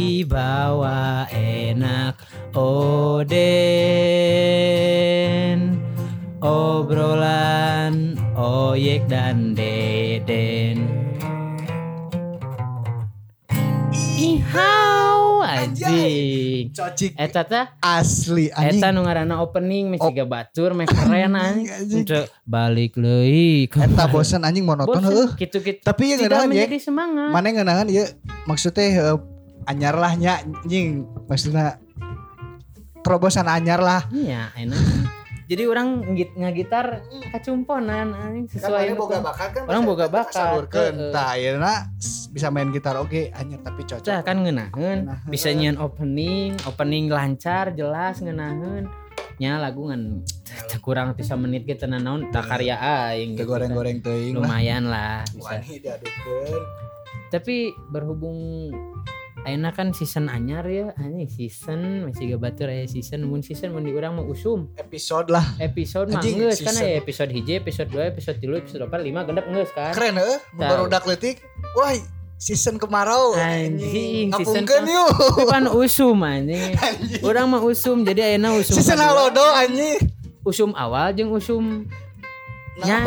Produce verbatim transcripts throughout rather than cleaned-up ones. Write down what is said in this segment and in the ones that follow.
dibawa enak Oden, obrolan Oyek dan Deden. Ihau anjing. Cocik. Eta teh Asli anjing. Eta nu ngaranna opening meh siga batur meh keren anjing. Balik leuy. Eta bosan anjing monoton heuh. Gitu-gitu. Tapi yang ngeunahan ya. ya. Mana yang ngeunahan ya maksudnya uh, anyar lah nya anjing. Maksudnya terobosan anyar lah. Iya, enak. Jadi orang ngagitar kacumponan anjing sesuai kan boga bakat kan. Orang boga bakat. Tah ayeuna bisa main gitar oke anyar tapi cocok. Tah kan ngeunaheun. Bisa nyian opening, opening lancar, jelas ngeunaheun. Nya lagu ngan kurang tiga menit gitu naon tak karya aing gitu. Goreng-goreng teuing lah. Lumayan lah bisa. Wani diadukeun. Tapi berhubung ayeuna kan season anyar ya, anjing season masih gak batur aya season, mun season mun di urang mah usum. Episode lah. Episode mah geus kan aya episode hiji, episode dua, episode tilu, episode opat, lima gendep geus kan. Keren heuh, barudak leutik. Wah, season kemarau anjing. Ngapungkeun yuk. Pan usum anjing. Urang mah usum, jadi ayeuna usum. Season halodo anjing. Usum awal jeung usum nya.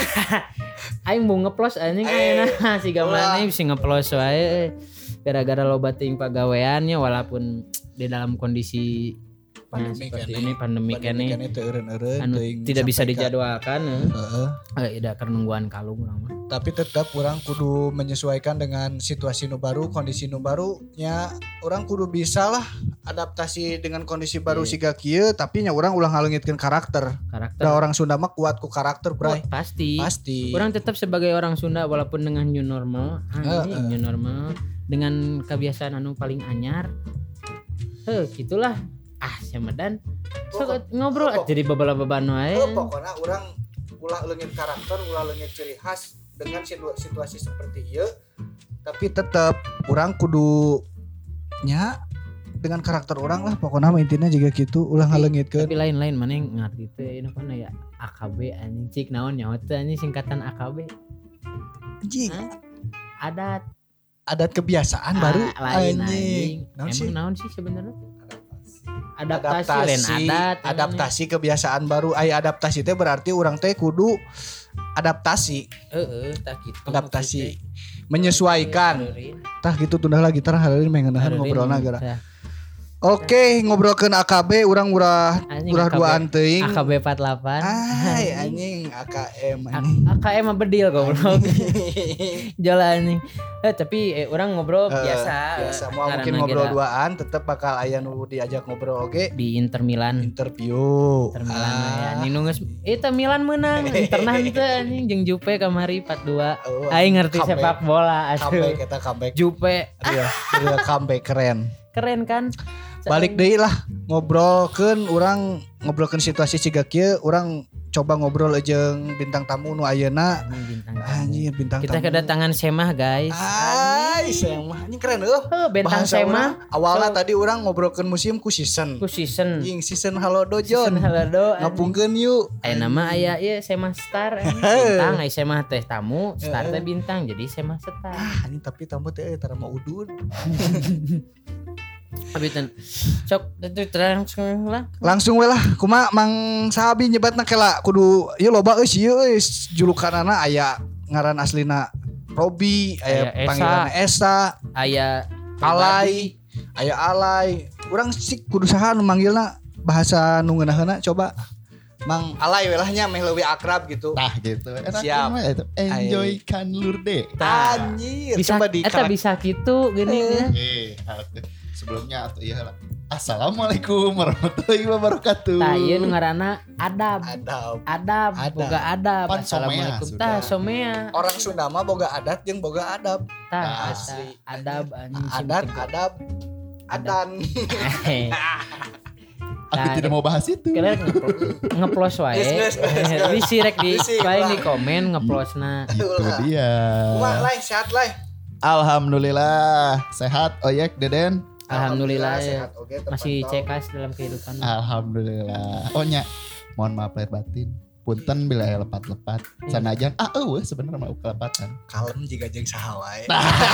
Aing mau ngeplos anjing ayeuna siga maneh bisa ngeplos wae. Gara-gara loba ting pagaweannya walaupun di dalam kondisi pandemi nah, seperti ini pandemi kene anu tidak bisa dijadwalkan heeh uh, tidak kenungguan kalung urang mah tapi tetap orang kudu menyesuaikan dengan situasi nu baru kondisi nu baru nya orang kudu bisa lah adaptasi dengan kondisi baru yeah. Siga kieu tapi nya orang ulah ngaleungitkeun karakter karakter da orang Sunda mah kuat ku karakter bray oh, pasti pasti orang tetap sebagai orang Sunda walaupun dengan new normal uh, uh. new normal dengan kebiasaan anu paling anyar heh gitulah ah Syamedan so, ngobrol oh, jadi babala-baban wae oh, pokoknya orang ulah leungit karakter ulah leungit ciri khas dengan situasi seperti ieu tapi tetap orang kudu nya dengan karakter orang lah pokoknya intinya juga gitu ulah ngaleungitkeun tapi lain-lain mana yang ngarti teh apa ya A K B anjing cik naon nyaho teh anjing singkatan A K B anjing adat adat kebiasaan ah, baru lain anjing emang sih? Naon sih sebenarnya adaptasi, adaptasi lain adat adaptasi namanya. Kebiasaan baru aya adaptasi teh berarti orang teh kudu adaptasi heeh tah gitu adaptasi menyesuaikan tah gitu tundah lagi tar hari ini mengenahan ngobrolna gara oke ngobrolkeun A K B urang urah urah duaan teuing A K B empat puluh delapan ai anjing A K M anjing A K M mah bedil goblok jalan anjing eh tapi eh, orang ngobrol uh, biasa biasa mau mungkin ngobrol gila. Duaan tetep bakal aya nu diajak ngobrol oge okay? Di Inter Milan interview Inter Milan ah. Ya ninu geus eta Milan menang Interna teh anjing jeung Jupe kamari empat dua oh, aing ngerti comeback. Sepak bola atuh comeback eta comeback Jupe iya real comeback keren keren kan balik deui lah ngobrolkeun urang ngobrolkeun situasi siga kieu urang coba ngobrol jeung bintang tamu nu ayeuna anjir bintang kita tamu kita kedatangan Semah guys ai Semah anjing keren eueuh oh, bintang Semah awalna so, tadi urang ngobrolkeun museum ku season ku season anjing season halodo Jon season halodo ngapungkeun yuk aya nama aya ieu Semah Star bintang ai Semah teh tamu Star teh bintang jadi Semah Star ah anjing tapi tamu teh tara mah udun Abitan sok itu langsung lah langsung we lah kumaha Mang Sabi nyebatna kela kudu ieu loba euy ieu euy julukanana aya ngaran aslina Robi aya panggilanna Esa aya Alay aya Alay urang sih kudu saha nu manggilna bahasa nu ngeunaheuna coba Mang Alay we lah nya meh leuwih akrab gitu tah gitu siap enjoy kan lurde anjir coba di eta bisa kitu gini ya eh sebelumnya atau iya lah assalamualaikum warahmatullahi wabarakatuh tah ieu nu ngaranna adab adab adab boga adab Pan assalamualaikum tah somea orang Sunda mah boga adat jeung boga adab tah asli adab anjing adat adab adan aku tidak mau bahas itu kalian ngeplos wae bisi rek di paling di komen ngeplosna itu dia kumaha lai sehat lai alhamdulillah sehat Oyek Deden alhamdulillah, alhamdulillah ya. Masih cekas dalam kehidupan alhamdulillah oh nya mohon maaf lahir batin punten bila aya lepat-lepat. Sanajan ah eueuh sebenarnya mah kelepatan. Kalem jiga jeung saha wae.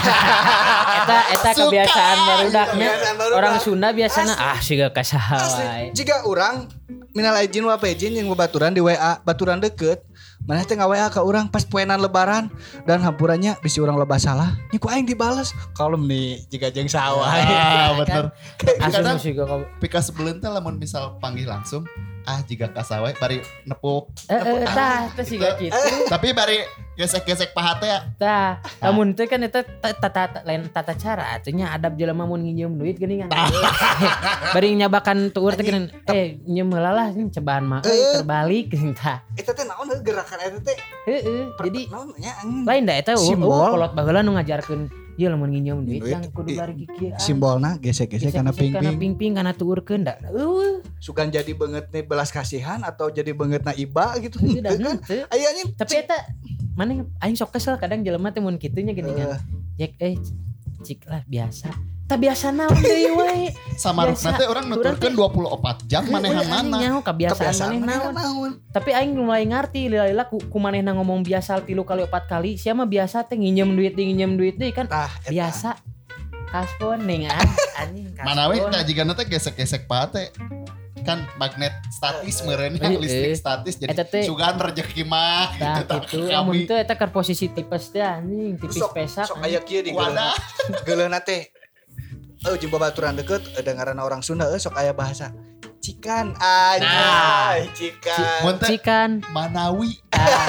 Eta eta Suka. kebiasaan barudaknya. Kebiasaan barudak. Orang Sunda biasanya ah siga ka saha wae. Jika orang minal izin wa izin yang baturan di W A, baturan deket. Mana teh nge-W A ke orang pas poenan lebaran dan hampurannya bisi orang loba salah. Nya ku aing dibales. Kalem nih jiga jeung saha wae. Ah bener. Asup Kadang siga ka pika sebelum teh lamun misal panggil langsung ah jika kasawe bari nepuk. eh tah teh siga kitu. Tapi bari gesek-gesek paha teh ya. Tah, lamun teh kan eta tata lain tata cara atunya adab jelema mun nginjem duit geuningan. Bari nyabakan tueur teh geuning eh nyeum heula lah cobaan mah euy terbalik geuning tah. Eta teh naon heuh gerakan eta teh? Heeh, jadi Naon nya anjing. lain da eta Simbol. oh kolot baheula nu ngajarkeun ieu lamun nginjem duit Duit, yang kudu i- bari kieu. Simbolna gesek-gesek kana Kana ping-ping. ping-ping kana tuurkeun da. Eueuh, Sugan jadi banget nih belas kasihan atau jadi banget na iba gitu. teu da Kan? henteu. Aya anjing. Tapi eta mana aing sok kesel kadang jelema teh mun kitu nya geuningan. Jek eh cik lah biasa. Tah biasa naon deui we. Sama Biasa. nanti orang nuturkeun dua puluh empat jam manehan mana. Nyaho kebiasaan Kebiasaan maneh maneh naon. naon. Tapi aing mulai ngarti lila ku, ku manehna ngomong biasa tilu kali opat kali, sia mah biasa teh nginjem duit deui nginjem duit deui kan Tah, eta. biasa. Kaspon ning ah anjing kaspon. Mana we tah jika nanti gesek-gesek paha teh kan magnet statis meureunnya Eh, listrik eh. statis jadi Eta teh- sugan rezeki mah Tah tah, gitu kami. lamun teu eta keur posisi tipes teh anjing tipis Sok pesak. sok aya kieu di Wadah. geuleuh teh. Oh jeung babaturan deket dengaran orang Sunda euy sok aya bahasa cikan Nah. anjay cikan. Mun teh Cikan Manawi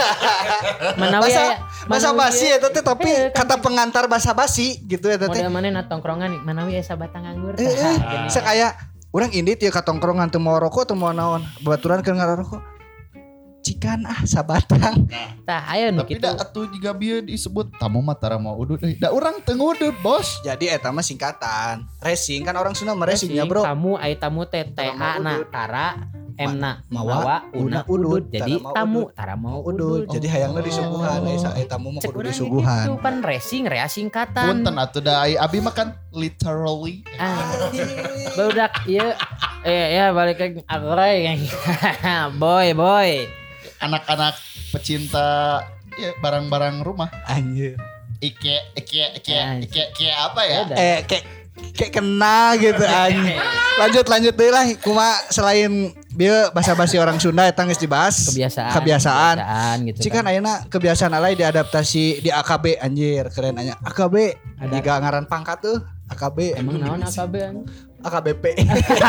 Manawi Bahasa aya bahasa basi eta teh tapi Eh, kan kata pengantar bahasa basi gitu eta teh. model manehna tongkrongan Manawi aya sabatang anggur. Eh, eh, Tah, sok aya urang indit ya ka tongkrongan teu mau rokok teu mau naon. Babaturan keur ngarokok. Cikan ah sabatang. tah aya nu tapi kitu. da atuh jika bieu disebut tamu mah tara mau udut euy da urang teu ngudut bos. Jadi eta mah singkatan. Racing kan orang Sunda mah racingnya bro. Tamu aya tamu teh T A na udut. tara M na Mawa, mawa una una udut. udut. Jadi Tara mau tamu udut. tara mau Udut. udut. Jadi hayangna disuguhan aya sa- aya tamu mah Cek kudu urang disuguhan. gitu pan racing rea singkatan. Punten atuh da ai abi mah kan literally Ah, barudak ieu eh ya balik ke agroy boy boy. anak-anak pecinta ya, barang-barang rumah. Anjir. Ike Ike Ike Ah. Ike Ike apa ya? Beda. Eh kayak kayak kena gitu anjing. Lanjut lanjut deui lah kumaha selain bieu basa-basi orang Sunda eta geus dibahas. Kebiasaan. Kebiasaan. kebiasaan gitu Cikan ayeuna kebiasaan alay diadaptasi di A K B anjir keren anya. A K B Ada. jika ngaran pangkat tuh A K B. Emang naon A K B anjing? A K B P.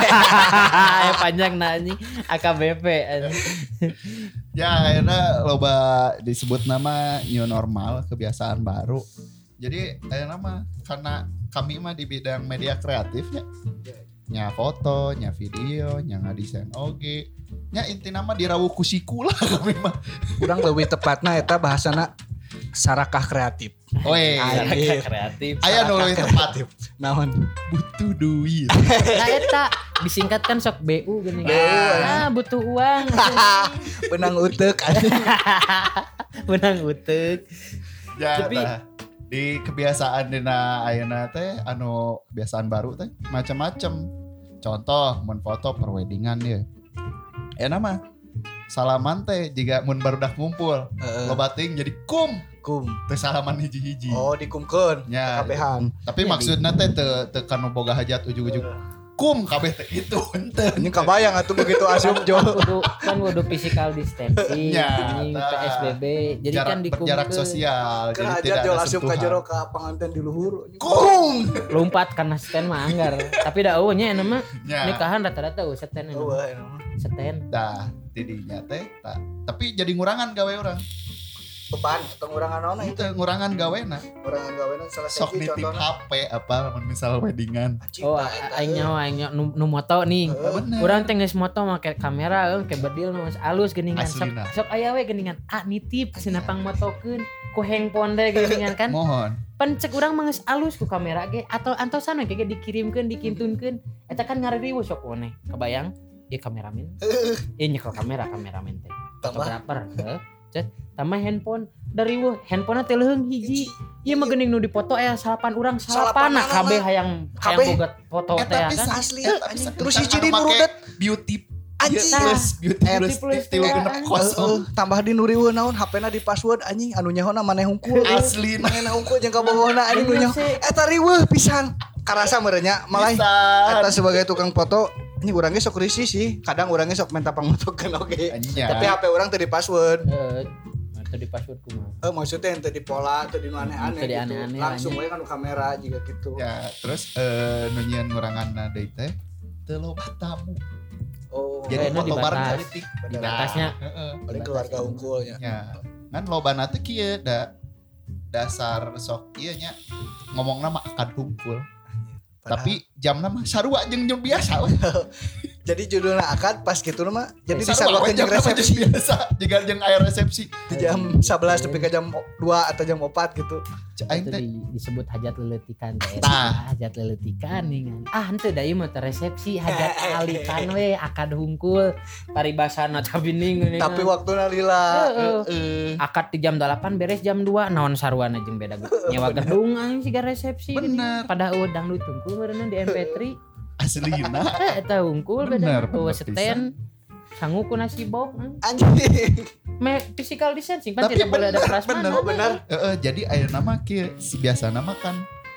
Eh panjang na anjing A K B P anjing. Ya akhirnya loba disebut nama new normal, kebiasaan baru. Jadi akhirnya mah karena kami mah di bidang media kreatifnya, nya foto, nya video, nya ngadesain oge, nya inti nama dirawuh ku siku lah kami mah. Urang leuwih tepatna eta bahasana sarakah kreatif. Oe, Anjir. Kreatif. aya nu leuwih tepat Naon? butuh duit. Nah eta disingkatkan sok B U gini. B U, Ah butuh uang. Benang uteuk anjing. Benang utek. Ya, Tapi- tah. Di kebiasaan dina ayeuna teh anu kebiasaan baru teh macam-macam. Contoh mun foto perweddingan ya. Enak mah salaman teh jika mun barudak ngumpul Heeh. loba teuing jadi kum Kum. teh salaman hiji-hiji. Oh dikumkeun. Nya, Kabehan. tapi Jadi- maksudna teh teu teu kanu boga hajat ujug-ujug kum kabeh teh itu henteu. Ini kabayang atuh begitu asup Jo. Kudu kan kudu physical distancing, Ya, anjing tah. P S B B. Jadi Jarak kan berjarak dikumpulkeun. sosial jadi Kerajaan tidak Jo ada asup ka sentuhan. jero ka panganten di luhur. Kum. Lompat karena stand mah anggar. Tapi da eueuh nya enak mah Ya. nikahan rata-rata eueuh stand Oh, enak. Stand. Dah, tidinya teh tak. Tapi jadi ngurangan gawe orang. beban atau ngurangan naon itu. Itu ngurangan gawena. Ngurangan gawean salah Sok satu nitip contohna. H P apa mun misal weddingan. Oh, aing nyaho aing nyaho nu, nu moto nih. Bener. Urang teh geus moto make kamera eueuh ke bedil nu geus alus geuningan. Sok, Aslina. sok aya we geuningan. Ah nitip cenah pang motokeun ku handphone teh geuningan kan. Mohon. Pan cek urang mah geus alus ku kamera ge atau antosan we ge dikirimkeun dikintunkeun. Eta kan ngaririweuh sok we. Kebayang dia kameramen. Ieu nyekel kamera kameramen teh. Tambah. Fotografer, heeh. Cet, tambah handphone dari weuh handphone teh leuheung hiji. Ieu mah geuning nu dipoto aya salapan urang salapan Salapan kabeh anak. hayang hayang Kabeh. boga foto Eh teh ya tapi kan. Asli eh, anjing. tapi Terus bisa hiji anu di make nurudet. beauty Anjing. Plus beauty Eh, plus plus tilu teh, genep anjing. kosong. Heeh, tambah di nuriweun naon H P-na di password anjing anu nyaho maneh hungkul. Asli maneh hungkul jeung kabogohna anjing nu nyaho. Eta riweuh pisan. Karasa merenya malah Pisan. eta sebagai tukang foto ini urang ge sok risih sih. Kadang urang ge sok minta pangotokeun oge. Anjay. Tapi H P urang teu di password. Eh, atau di password kumaha. Eh maksudnya ente di pola atau di nu aneh-aneh Teu di gitu. aneh-aneh, Langsung anjing. we kan kamera juga gitu. Ya, terus eh nu nyieun nguranganna deui teh teu loba tamu. Oh, Jadi Kayaknya foto bareng dibatas. politik. Dibatasnya. Heeh. paling keluarga unggulnya. Ya, kan lobana teh kieu da dasar sok ieu nya ngomongna mah akan kumpul. Tapi jamna mah sarua jeung jeung biasa we. Jadi judulnya akad pas gitu mah jadi Sarua we disamakeun jeung jamna mah jeung resepsi biasa, jeung jeung aya resepsi. di jam sebelas tapi ke jam dua atau jam empat gitu. Aing Itu teh di, disebut hajat leletikan teh. Tah. Hajat leletikan nih kan. Ah henteu da ieu mah teh resepsi hajat alikan we akad hungkul paribasana tabining geuning. Tapi waktuna lila. Heeh. eh Akad di jam delapan beres jam dua naon saruana jeung beda nyewa gedung anjing siga resepsi geuning. Bener. Pada eueuh dangdut hungkul meureunna di M P tiga. aslina Eh eta hungkul Bener, beda eueuh bener stand sangu ku nasi bok. Anjing. Me physical distancing kan Tapi tidak boleh ada bener, prasmanan. bener, bener. Heeh, jadi aya nama kieu si biasa nama kan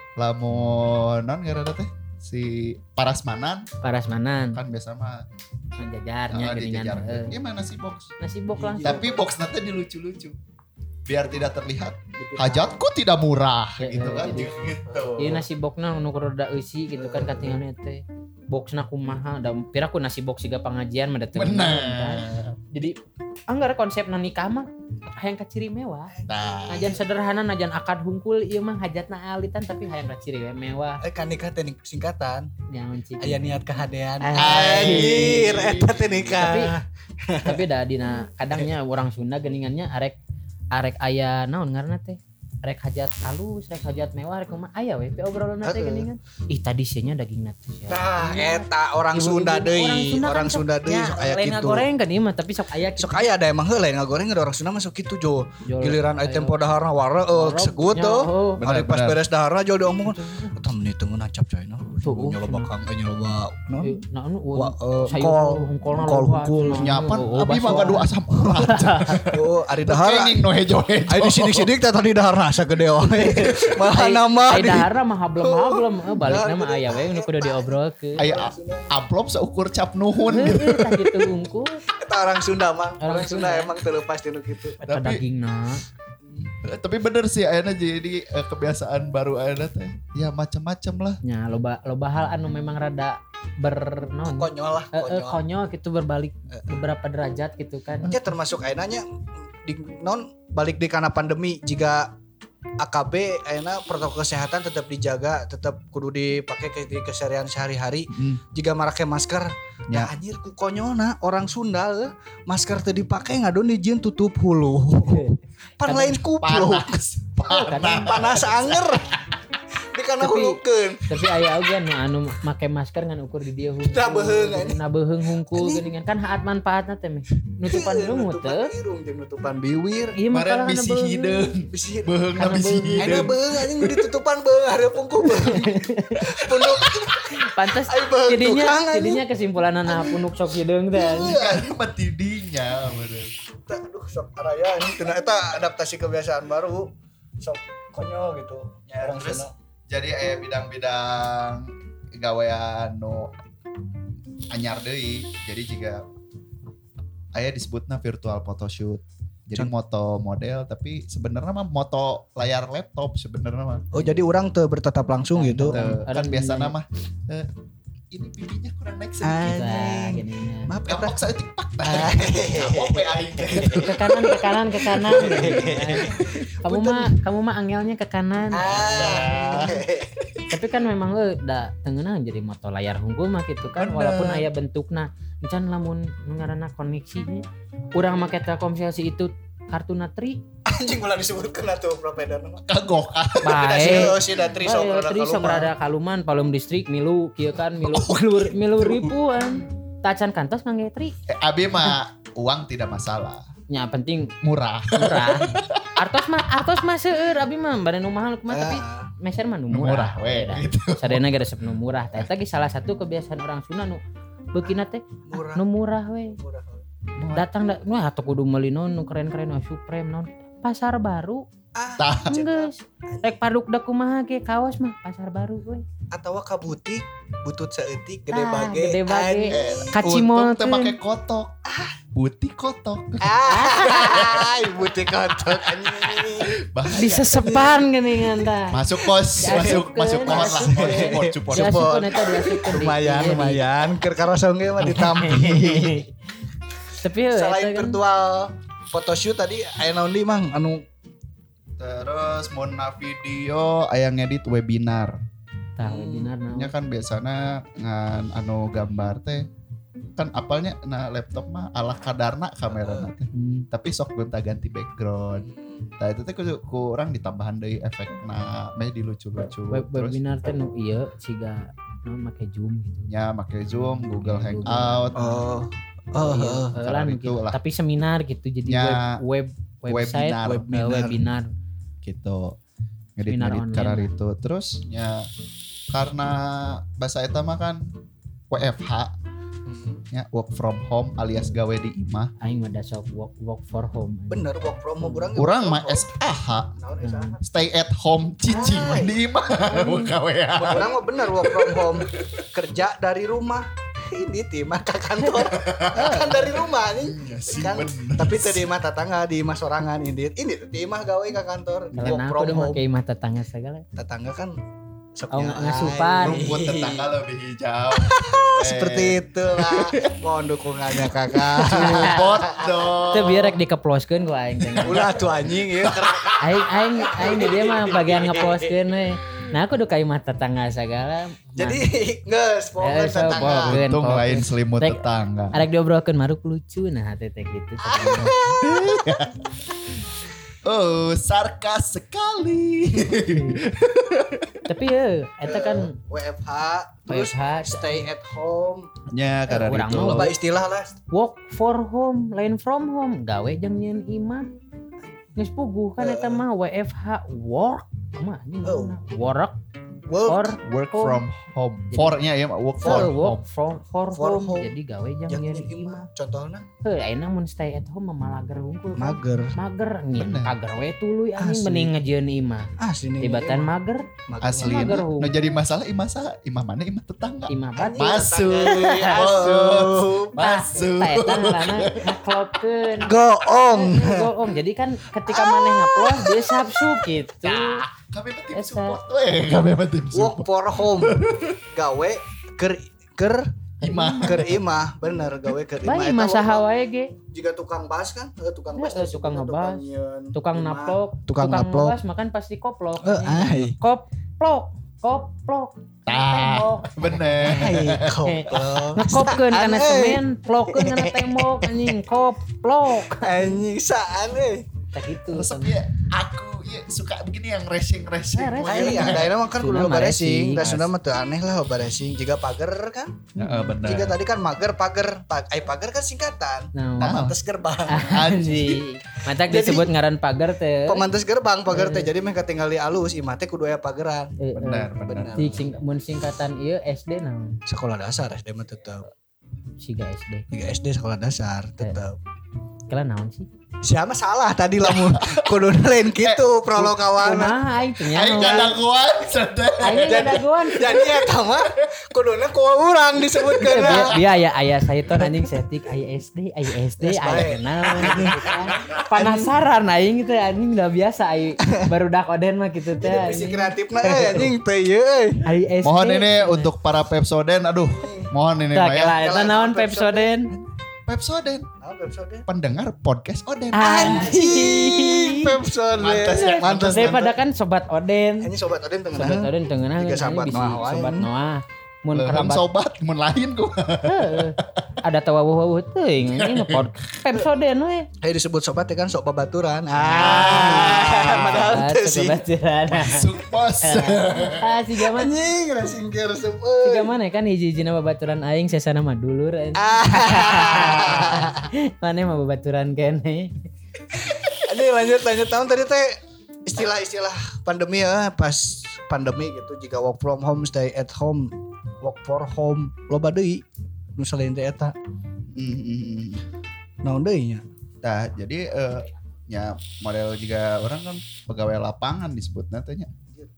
lamun non ngaranna teh si parasmanan Parasmanan kan biasa mah menjajarnya ah, geuningan. dijajar. heeh. Ieu mah nasi box. Nasi bok langsung. Tapi box nanti dilucu-lucu. Biar tidak terlihat hajatku tidak murah Ya, gitu ya, kan jadi- gitu. Ieu nasi boxna nu rada eusi gitu kan katingalna teh. Boxna kumaha da pira ku nasi box siga pangajian mah da teu bener, kan. Benar. Jadi anggar konsepna nikah mah hayang ka ciri mewah. Nah, Najan sederhana najan akad hungkul ieu mah hajatna alitan tapi hayang ka ciri we mewah. Eh kan nikah teh singkatan. Nyaon cik. Aya niat kehadean. Anjir. Anjir, eta teh nikah. Tapi tapi da dina kadangnya orang Sunda geuningannya arek arek aya naon ngaranna teh? Rek hajat halus, rek hajat mewah, rek kumaha aya we obrolanna teh Heeh. geuningan. Ih tadi sieuna dagingna teh. Nah, eta orang Ibu-ibu- Sunda deui, kan orang sok- Sunda deui ya, sok aya lain kitu. ngagoreng kan ieu mah tapi sok aya kitu. Sok aya ada emang heula lain ngagoreng ada orang Sunda mah sok kitu jo. Jol- Giliran ayo. aya tempo daharna wareuh Warog, segut nya, tuh. oh. Bener, Hari pas bener. beres daharna jol diomongkeun. Eta menit teu nancap coy no. Tuh, Nyoba bakang eh nyoba. No. Eh, Nah, anu Wa- eh, sayur kol, hungkulna kol loba, hungkul. cenah. nyapan Oh, abi mah bakso. ngadu asam urat. Oh, ari dahar. Kenging no hejo-hejo. Ayo di sidik-sidik teh tadi daharna sagede wae. Malah Ai- nambah ai di. daharna mah hablem-hablem, eh, balikna mah aya we nu kudu diobrolkeun. Aya amplop seukur cap nuhun gitu. Heeh, tah kitu hungkul. Eta orang Sunda mah. Orang Orang Sunda Sunda. emang teu lepas dinu kitu. Eta Tapi- dagingna. Tapi bener sih ayeuna jadi eh, kebiasaan baru ayeuna teh. Ya macam-macam lah. Nya loba loba hal anu memang rada ber naon? Konyol lah, Eh, eh, konyol. konyol gitu berbalik beberapa derajat gitu kan. Ya termasuk ayeuna nya di non balik di kana pandemi jika A K B ayeuna protokol kesehatan tetap dijaga, tetap kudu dipakai ke di keseharian sehari-hari. Hmm. Jika make masker, Ya. nah anjir ku konyolna orang Sunda eh, masker teu dipake ngadon dijieun tutup hulu. Pan Kadang lain kupluk. Panas. Kadang- Panas anger. Di kana Tapi- hulukeun. Tapi aya oge nu anu make masker ngan ukur di dieu hungkul. Nah, beheung, anjing. Nah beheung hungkul Anjing. geuningan kan haat manfaatna teh meh. Nutupan lumut Nutupan teh. irung jeung nutupan biwir. Ieu mah Maren kalau bisi beheung. hideung. Bisi Beheung na Karena bisi beheung. Ayeuna hideung. beung anjing nu ditutupan beung hareup pungku beung. Punuk Pantes Ai, beheung jadinya tukang, anjing. jadinya kesimpulan nah punuk sok hideung teh. anjing. Kan mah tidinya bener. Eta, aduh sok araya ini teu eta adaptasi kebiasaan baru sok konyol gitu nya orang Terus Sunda. jadi aya bidang-bidang gawean nu anyar deui. Jadi jika aya disebutna virtual photoshoot. Jadi moto model tapi sebenarnya mah moto layar laptop sebenarnya mah. Oh jadi orang teu bertatap langsung gitu. Teu, kan Orang biasa nanya. nama eh, ini pipinya kurang naik sedikit. Nah, geuningan. Maaf eta. Gampang saya tikpak. Kapok we aing teh. Ke kanan ke kanan ke kanan. Kamu mah kamu mah angelnya ke kanan. Ah. Tapi kan memang euy da teungeunang jadi moto layar hungkul mah gitu kan Bener. walaupun aya bentukna encan lamun nu ngaranna koneksinya urang make Telkomsel si itu kartuna tri Anjing ulah disebutkeun atuh provider mah. Kagok. bae. Oh si da tri sok Bae, rada tri sok kaluman. rada kaluman palem distrik milu kieu kan milu milu, milu ribuan. Tacan kantos ngangge tri. Eh, abi mah uang tidak masalah. Nya penting Murah. murah. Artos mah artos mah seueur abi mah bade nu mahal kumaha tapi Ah. meser mah nu Murah murah. we Beda. gitu. Sadayana ge resep nu murah. Tah eta ge salah satu kebiasaan orang Sunda nu beukina teh Murah. nu murah we. Murah. Datang da wah atuh kudu meuli naon nu keren-keren nu Supreme naon. Pasar Baru. Ah, Tah. Geus. Rek padukda kumaha ge kaos mah Pasar Baru we. atawa ka butik butut saeutik gede Ah, bage. gede bage. Anjing. Kacimol Untung teh make kotok. Butik kotok. Ah, butik kotok anjing. Bahaya. Disesepan geuningan tah. Masuk kos, masuk Diasupkeun, masuk kohon lah. diasupkeun. Support, support. Diasupkeun eta diasupkeun. Lumayan, lumayan. Keur karosong ge mah ditampi. Tapi heuh, Selain eta kan virtual photoshoot tadi aya naon deui Mang anu Terus mau na video aya ngedit webinar. tah webinar naon. Nya kan biasana ngan anu gambar teh kan apalnya na laptop mah ala kadarna kamera teh. Hmm. Tapi sok gonta-ganti background. Nah itu teh ku- kurang ditambahan deui efekna meh dilucu-lucu. Web Terus webinar teh nu ieu siga naon make Zoom gitu. nya make Zoom, Google Google. Hangout. oh oh Iya, heeh. eh, Cara lah, itu gitu. lah. Tapi seminar gitu jadi Ya, web web website webinar. web, eh, webinar. Gitu Seminar ngedit-ngedit online. karar itu terus ya karena bahasa eta mah kan W F H ya work from home alias gawe di imah Aing mah da sok work work for home. Bener work from home urang. urang mah S A H Naon S A H? stay at home cici Ay. mah di imah gawean Urang mah bener work from home. Kerja dari rumah. Ini tim mah ka kantor. Kan dari rumah nih. Iya sih, Kan, bener. tapi teu di imah tetangga di imah sorangan ini. Ini di imah gawe ka kantor. Kalau Work aku from udah home. make imah tetangga segala. Tetangga kan sok Oh, nyaay. ngasupan. rumput tetangga lebih hijau Seperti itulah. Mohon dukungannya kakak. support dong Itu biar rek dikeploskeun ku aing teh. Ulah tuh anjing ya. Aing aing aing di dia mah bagian ngeploskeun we. Nah aku udah ka imah tetangga segala. Jadi geus Eh, pokoknya so, tetangga. pokoknya. untung Fokus. lain selimut Rek- tetangga Arek diobrolkeun maruk lucu nah teh teh gitu. oh sarkas sekali Tapi ya eta kan W F H terus W F H. stay at home. nya karena Urang itu mah Loba istilah lah. work for home, lain from home, gawe jeung nyeun imah. Geus puguh kan eta mah W F H work. Kumaha anjing Oh. ngomongna? Work Work for work home. from home for-nya ya work for for work home from for, For home. home. Jadi gawe jeung yang nyeun ini imah. imah. Contohnya Heuh, ayeuna mun stay at home mah malager hungkul. kan. mager. Mager nyin Bener. pager we tuluy anjing Asli. mending ngejieun imah. Asli nih. Tibatan mager, asli Mager, nah, Hu. nah jadi masalah imah saha imah mana imah tetangga imah batu. masuk Masuk. masuk Tah eta ngaranna ngaklopkeun. Goong. Goong. Jadi kan ketika maneh ngaplos dia sabsu gitu. kami mah tim Esa. support weh kami mah tim Work support for home. Gawe ker ker imah ker imah bener gawe ker imah. Bae Eta mah saha work- wae ge. Jika tukang bas kan, eh, tukang bas. Eh, tukang ngebas, nyeun Tukang imah. naplok, Tukang tukang naplok. ngebas makan pasti koplok. Eh, ai. Koplok, koplok. tah Tembok. bener Ai, goblok. Ngekopkeun kana Saan, eh. semen, plokkeun kana tembok anjing, koplok. Anjing saan euy. Tak gitu. resep ya aku ya suka begini yang racing racing Nah, Ai, yang daerah mah kan kudu Sunda loba mah racing. racing. Da Sunda mah teu aneh lah loba racing. Jika pager kan. Heeh, bener Jika tadi kan mager pager. Pa- Ai pager kan singkatan. Nah, Pemantes gerbang. anjing. Matak Jadi- disebut ngaran pagar teh. Pemantes gerbang pager teh jadi meh katinggal di alus imah teh kudu aya pageran. Eh, eh. bener bener Di sing, mun singkatan ieu S D naon? Sekolah dasar S D mah tetep. Siga S D. Jika S D sekolah dasar tetep. Kela naon sih? Siapa salah tadi lamun kudu lain gitu prolog kawan. Kumaha aing teh aing nyaho. gak kuat sedih Aing geus daguan. Jadi eta mah kuduna ku urang disebutkeun. Dia dia aya aya sayton anjing setik aya S D, aya S D, Yes, aya baik. kenal gitu kan. Penasaran aing teh anjing udah biasa aing baru dak oden mah gitu teh. Visi anjing. kreatifna euy anjing teh ieu euy. Aya S D. mohon ini untuk para Pepsoden aduh mohon ini Tah Maya kela eta Kela naon naon Pepsoden? Pepsoden Naon Pepsode? pendengar podcast Oden Anjing Pepsode. Mantas ya, mantas. Daripada kan sobat Oden. Ini sobat Oden tengah. Sobat Oden tengenah Jika kan, sahabat ini bisi Noah wae. sobat Noah. Mun Leuham kerabat sobat mun lain ku heuh. Ada tawawuh-wawuh teuing ini pod Pepsoden we. Ayo disebut sobat ya kan sok babaturan. Ah, padahal teu sih. Baturan. masuk pos Ah si gaman Anjing racing keur resep si euy. gaman kan hiji-hijina babaturan aing sesana mah dulur. Ah. Mane mah babaturan kene. Ini lanjut lanjut tahun tadi teh istilah-istilah pandemi ya pas pandemi gitu jika work from home stay at home work for home loba deui nu selain teh eta. Mm-hmm. Naon deui nya? Tah jadi eh, nya model juga orang kan pegawai lapangan disebutna teh nya.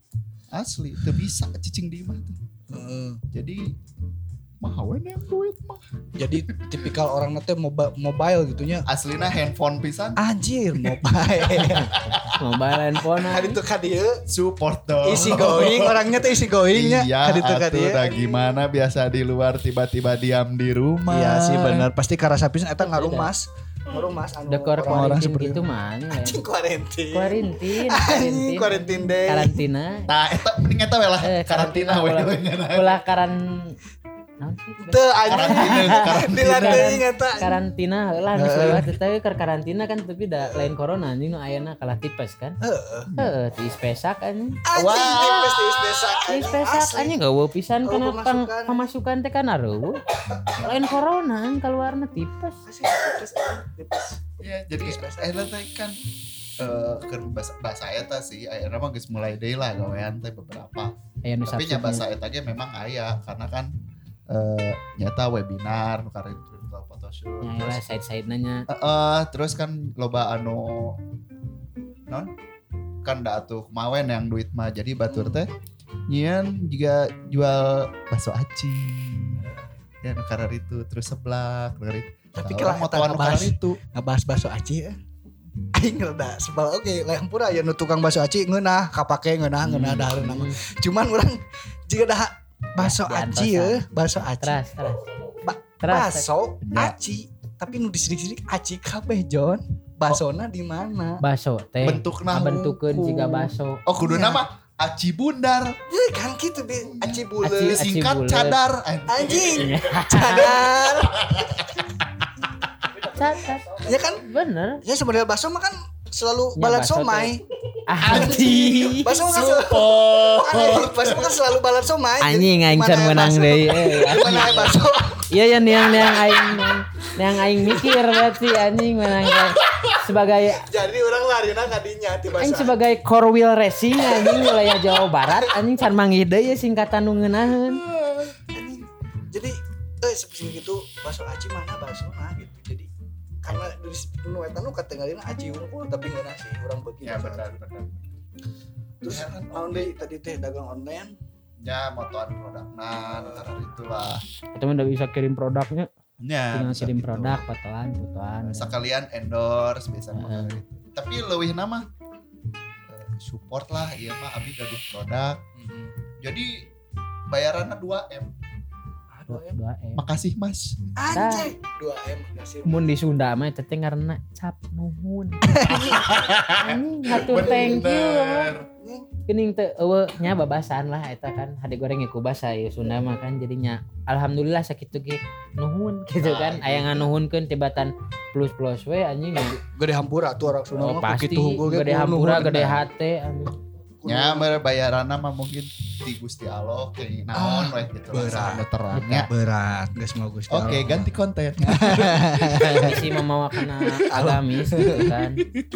Asli teu bisa cicing di imah teh. Heeh. Jadi mah we yang duit mah. Jadi tipikal orang nanti mobile, mobile gitunya. Aslina handphone pisan. Anjir mobile. Mobile handphone. Kali itu ka dieu Support dong. easy going, orangnya tuh easy going nya. Iya, Kali itu ka atuh dieu. dah gimana biasa di luar tiba-tiba diam di rumah. Iya sih benar, pasti karasa pisan eta ngarumas. Ngarumas anu Dekor orang-orang kuarantin seperti gitu itu. mah ya. Anjing kuarantin. Kuarantin, Anjing kuarantin deh. karantina. Nah, eta mending eta we lah Eh, karantina we ulah, we nya. ulah karan naon sih? Teu anjing. Karantina, karantina. Dilateuing eta. Karantina heula geus lewat teh keur karantina kan tapi da lain corona anjing nu ayeuna kalah tipes kan. Heeh. Heeh, tiis pesak anjing. Anjing tipes tiis besak. Tiis pesak anjing eueuh pisan Eueuh kana pang pemasukan. pemasukan teh kan areueuh. Lain corona an kaluarna tipes. Asli tipes tipes. Iya, jadi Tipes-tipes. eta teh kan eh keur bahasa bahasa eta sih ayeuna mah geus mulai deui lah gawean teh beberapa. Aya nu Tapi nya substitute. bahasa eta ge memang aya karena kan eh nyata webinar nu karek virtual photoshoot. Ya lah side-side nanya. Heeh, terus kan loba anu non kan da atuh kumawen yang duit mah jadi batur teh nyieun juga jual bakso aci. Ya nu karar itu terus seblak karar itu. Tapi Tah, kalau orang mau eta tuan nu ngebahas karar itu. ngebahas bakso aci ya. Aing rada sebal oke lain pura ya nu tukang bakso aci ngeunah kapake ngeunah ngeunah Hmm. dahareuna mah. Cuman urang jika dah bakso Ya, aci ya, bakso aci. Teras, teras. Ba- Teras. Bakso Ya. aci, tapi nu disidik-sidik aci kabeh John. Basona di mana? Baso teh. Bentukna bentukeun hukum. jiga baso. Oh kudu Iya. nama aci bundar. Ya kan gitu be, aci Aci- buleut. Singkat bulet. cadar. Anjing, cadar. Cacat. Ya kan, Bener. ya sebenarnya bakso mah kan selalu Ya, balat bakso somai. Anjing. Bakso mah kan selalu, Anjing, bakso mah kan selalu balat somai. Anjing aing Gimana can ya menang bakso? deui. Eh, Gimana ya bakso? Iya yang yang yang aing yang, yang aing mikir berarti anjing menang kayak sebagai Jadi orang larina kadinya ti aing bahasa. sebagai core wheel racing anjing wilayah Jawa Barat anjing can manggih deui singkatan nu ngeunaheun. Anjing. Jadi eh seperti gitu bakso aci mana bakso nah gitu. Jadi karena dari nu eta nu katengalina aci unggul tapi ngeunah sih urang beuki. Ya benar benar. Terus naon deui tadi teh dagang online. Ya motoan produkna antara itulah. Kita mah udah bisa kirim produknya, Ya, tinggal bisa kirim gitu. produk, fotoan, fotoan. Sekalian endorse biasa Heeh. mah gitu. Tapi leuwih nama eh, support lah ieu mah abi gaduh produk. Jadi bayaranna dua M. Aduh em. dua M. Makasih Mas. Anjing dua M kasih. Mun di Sunda mah teh ngaranna cap nuhun. Anjing hatur thank you. Geuning teu eueuh nya babasan lah eta kan hade goreng ku basa ieu Sunda mah kan jadinya alhamdulillah sakitu ge nuhun gitu kan aya nganuhunkeun tibatan plus-plus we anjing. Gede hampura tuh orang Sunda Oh, mah pasti begitu unggul ge gede kudu hampura nuhun. gede hate anjing. Ya bayaranna mah mungkin di Gusti Allah kayak naon we gitu lah berat. sama terangnya. Berat geus mau Gusti Oke, Allah. ganti konten. Isi memawakan agamis gitu kan.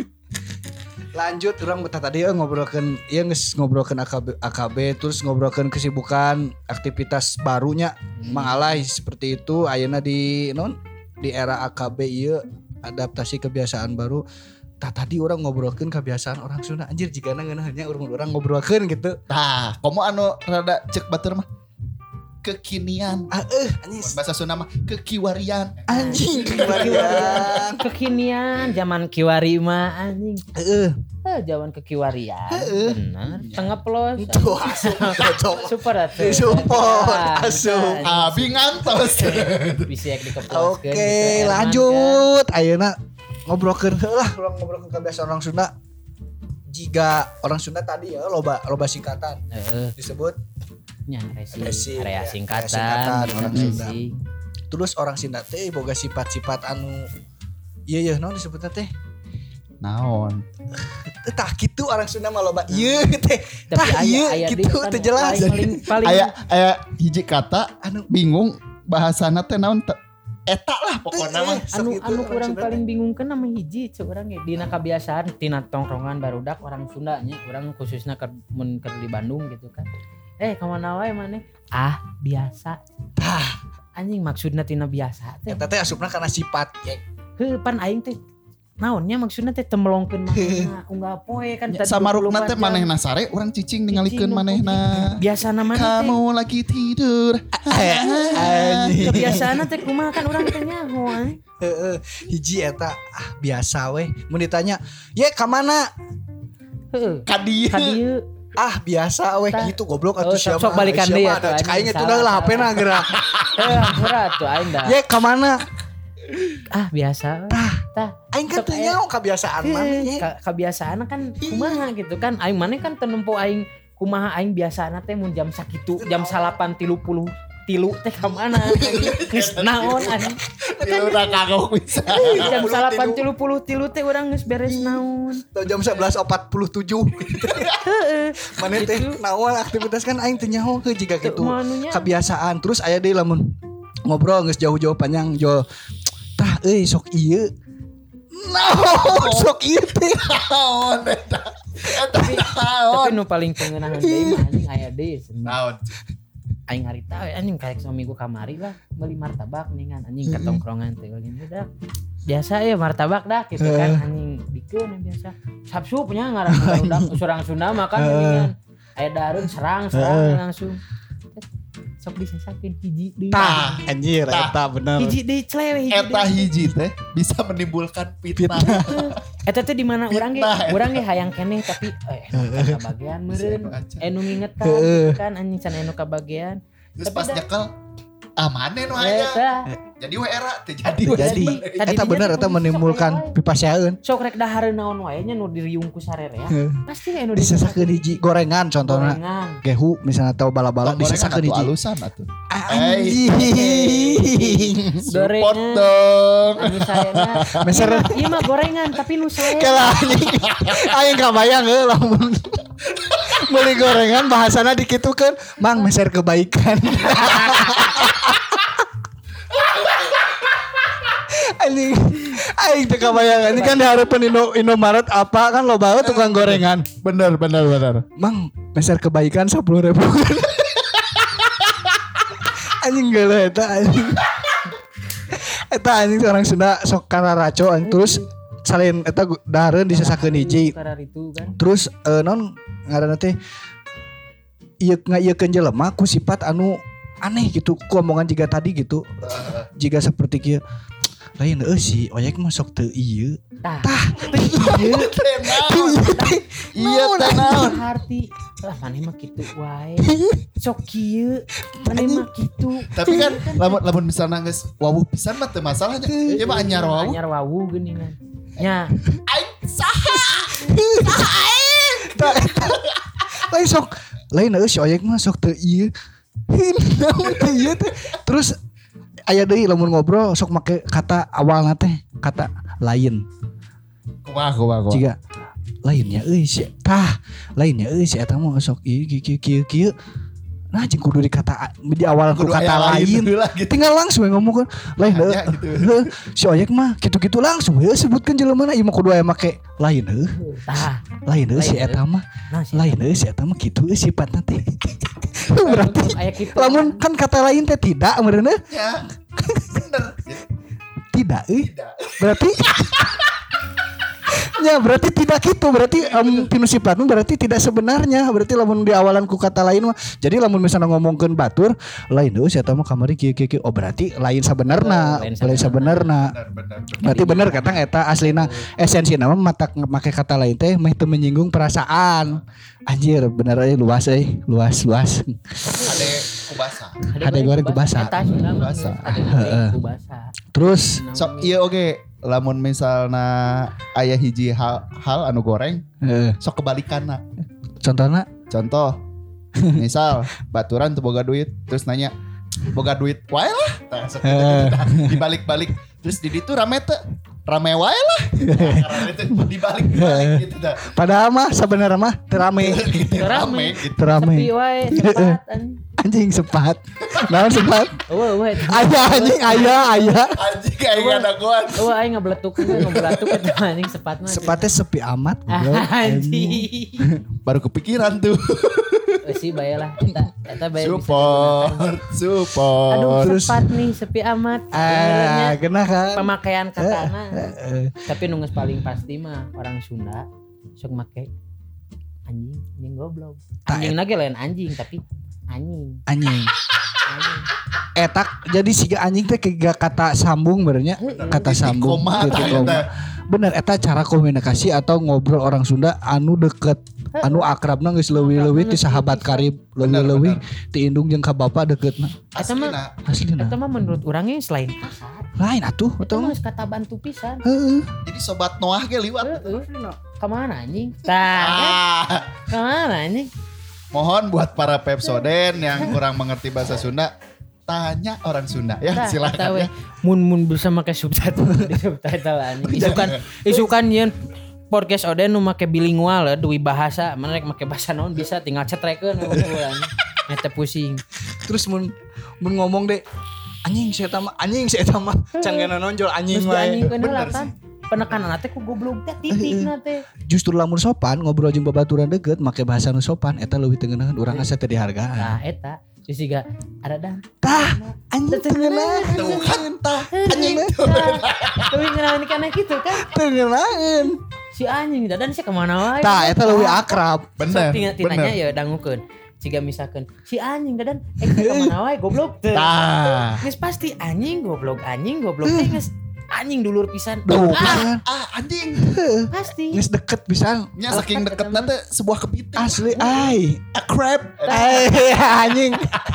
Lanjut orang betah tadi ya ngobrolkeun ieu geus ngobrolkeun A K B A K B terus ngobrolkeun kesibukan aktivitas barunya Mang Alay seperti itu ayeuna di non di era A K B ieu adaptasi kebiasaan baru. Tah tadi orang ngobrolkeun kebiasaan orang Sunda anjir jigana ngeunaheunnya urang-urang ngobrolkeun gitu. Tah, komo anu rada cek batur mah kekinian. Ah eh anjing Bahasa Sunda mah kekiwarian. anjing kebalian. Kekinian zaman kiwari mah anjing. Heeh. Eh zaman kekiwarian. Heeh. Bener. Tengeplos. Tuh asup cocok. Super atuh. Support, asup. Abi ngantos. Bisa dikeploskeun. Oke, gitu, Herman, lanjut. Ayeuna ngobrolkeun lah, urang ngobrolkeun kebiasaan orang Sunda. Jika orang Sunda tadi ya loba loba singkatan kan. Heeh. disebut Nya resi, Resi, area ya, singkatan, area singkatan, bener, orang Sunda. resi. terus orang Sunda teh boga sifat-sifat anu iya iya naon disebutna teh Naon? tah kitu orang Sunda mah loba ieu teh Tapi tah aya ieu aya kitu kan teu jelas paling paling Aya aya hiji kata anu bingung bahasana teh naon teh eta lah pokoknya mah. Sok anu gitu anu orang kurang Sunda paling teh. bingung kan nama hiji ceu urang ge dina kabiasaan tina tongkrongan barudak orang Sunda nya urang khususna keur mun keur di Bandung gitu kan eh ka mana wae maneh ah biasa tah anjing maksudna tina biasa teh. Eta teh asupna kana sifat ya. Heuh pan aing teh naonnya maksudna teh temelongkeun manehna unggah poe kan tadi samarukna teh manehna sare urang cicing ningalikeun manehna. Biasana maneh kamu lagi tidur. Anjing. Kebiasaana teh kumaha kan urang teh nyaho. Heeh, hiji eta ah biasa we. Mun ditanya, "Ye ka mana?" Heeh. Ka dieu. Ka dieu. Ah biasa weh gitu goblok atuh Oh, siapa sok balikan deui atuh cek aing itu lah H P-na geura. Heh ampura atuh aing dah. Ye ka mana? Ah biasa. Tah, tah aing kan teu nyaho kebiasaan maneh ye. Kebiasaan kan kumaha gitu kan aing maneh kan teu nempo aing kumaha aing biasana teh mun jam sakitu jam salapan tilu puluh tilu teh ka mana geus naon anjing. Tilu udah kagok bisa. Jam salapan tilu puluh tilu teh urang geus beres naon. Tau jam sebelas empat puluh tujuh. Heeh. Maneh teh naon aktivitas kan aing teu nyaho ke jiga kitu. Manunya. Kebiasaan terus aya deui lamun ngobrol geus jauh-jauh panjang jo. Tah euy sok ieu. Naon sok ieu teh. Naon eta. Tapi tapi nu paling pengenahan deui mah anjing aya deui. Naon. Aing harita we anjing karek saminggu kamari lah beli martabak ningan anjing katongkrongan teh gini udah biasa ya martabak dah gitu kan anjing dikeun biasa sabsup nya ngaran udah surang Sunda makan ningan aya dareun serang serang langsung sok disesakeun hiji deui Tah anjir eta bener. hiji deui clewe hiji Eta hiji teh bisa menimbulkan fitnah. eta teh di mana urang ge urang ge hayang keneh tapi eh kabagian meureun anu ngingetan gitu kan anjing can anu kabagian terus pas nyekel ah maneh nu aya jadi we era teh jadi Jadi eta bener eta menimbulkan pipaseun. sok rek dahareun naon wae nya nu diriung ku sarerea pasti anu Disesakeun hiji gorengan contohna. Gehu misalnya tahu bala-bala disesakeun hiji. Alusan atuh. Anjing. Support dong. Anu sayana Meser ieu mah gorengan tapi nu selea kalah anjing. Aing kabayang heuh lamun beli gorengan bahasana dikitukeun, "Mang meser kebaikan." Anjing, aing teu kabayang anjing kan dihareupeun Indo Indomaret apa kan loba we tukang gorengan. Bener bener bener. "Mang, meser kebaikan sepuluh ribu." Anjing geuleuh eta anjing. Eta anjing orang Sunda sok kararaco anjing terus salin eta dahareun disesakeun hiji. Terus uh, non ngaranna teh ieu ngaieukeun jelema ku sifat anu aneh gitu ku omongan jiga tadi gitu. Jiga seperti kieu. Lain eueuh si oyek mah sok teu ieu. Tah. Ieu. Iya teh naon? Arti lah maneh mah kitu wae. Sok kieu maneh mah kitu. Tapi kan lamun lamun misalna geus wawuh pisan mah teu masalahnya. Ieu mah anyar wawuh. Anyar wawuh geuningan. Nya. Aing saha? Lain sok lain eueuh si oyek mah sok teu ieu. Naon teh ieu teh. Terus aya deui lamun ngobrol sok make kata awalna teh kata lain. Kumaha kumaha kumaha. Jiga lainnya euy si tah lainnya euy si eta mah sok ieu kieu kieu kieu. Nah jeung kudu dikata di awal ku kata lain. Gitu. Tinggal langsung ngomong kan lain heuh. Gitu. Si oyek mah kitu-kitu langsung heuh sebutkeun jeleumana ieu mah kudu aya make lain heuh. Tah. Lain heuh si eta mah. Lain heuh si eta mah kitu euy sifatna teh. Berarti lamun kan kata lain teh tidak meureunna. Ya. Bener. Tidak euy. Berarti ya berarti tidak gitu berarti um, tinu sifatmu berarti tidak sebenarnya berarti lamun di awalan ku kata lain mah jadi lamun misalnya ngomongkeun batur lain heuh si eta mah kamari kieu kieu oh berarti lain sabenerna lain sabenerna berarti bener kata eta aslina esensina mah mata make kata lain teh meh teu menyinggung perasaan anjir bener euy luas euy luas luas ade kubasa ade goreng kubasa kubasa heeh terus sok ieu oge lamun misalna aya hiji hal, hal anu goreng heeh sok kebalikanna contohna contoh misal baturan tuh boga duit terus nanya boga duit wae lah nah, dibalik-balik terus di ditu rame teh rame wae lah karena itu dibalik-balik gitu dah padahal mah sebenarnya mah terame rame gitu terame sepi wae sepat anjing sepat naon sepat eueuh eueuh aya anjing aya aya anjing aing ngadaguan eueuh aing ngabeletuk ngabeletuk eta anjing sepat mah sepatnya sepi amat anjing baru kepikiran tuh Eusi bae lah eta eta bae bisa Support, digunakan. support. Aduh Terus- cepat nih sepi amat. Ah, Benernya kena kan. pemakaian katana. Heeh. Tapi nu geus paling pasti mah orang Sunda sok make anjing, anjing goblok. Ta- Anjing lagi lain anjing tapi anjing. Anjing. Anjing. Etak jadi siga anjing teh kega kata sambung benernya. Kata Titik sambung. koma, titik tah, koma. eta. Bener eta cara komunikasi atau ngobrol orang Sunda anu deket anu akrabna geus leuwih-leuwih ti sahabat karib leuwih-leuwih ti indung jeung ka bapa deketna. Eta mah Aslina. Aslina. eta mah menurut urangnya selain kasar. Lain atuh Eta betul. mah geus kata bantu pisan. Heeh. Jadi sobat Noah ge liwat. Heeh. Kemana anjing? Tah, Ah, kemana anjing? mohon buat para Pepsoden yang kurang mengerti bahasa Sunda, tanya orang Sunda ya, Tah, eta silakan we. ya. Mun mun bisa make subtitle di subtitle anjing. Isukan isukan yeun podcast Oden nu make bilingual ya, dui bahasa, mana rek make bahasa naon bisa tinggal cetrekeun anjing. Eta pusing. Terus mun mun ngomong deh anjing saya mah anjing saya mah canggana nonjol anjing Terus wae. anjing kan Bener kan. Penekanan teh ku goblok teh titik na teh. Justru lamun sopan ngobrol jeung babaturan deket make bahasa nu sopan eta leuwih teu ngeunaheun urang asa teu dihargaan. Nah, eta terus juga ada dan Tah anjing teu ngeunaheun. Tuh kan tah anjing. tapi ngenawan kana gitu kan Teu ngeunaheun. si anjing dan si kemana wae. Tah eta leuwih akrab. Bener. Tina tinanya bener. ya dangukeun. Jika misalkan si anjing dadan eh kemana wae goblok teh. Tah. Geus pasti anjing goblok anjing goblok teh geus anjing dulur pisan. Tuh Ah, kan. Ah anjing. pasti. Geus deket pisan. Nya saking deketna teh sebuah kepiting. Asli ai. A crab. Ai anjing.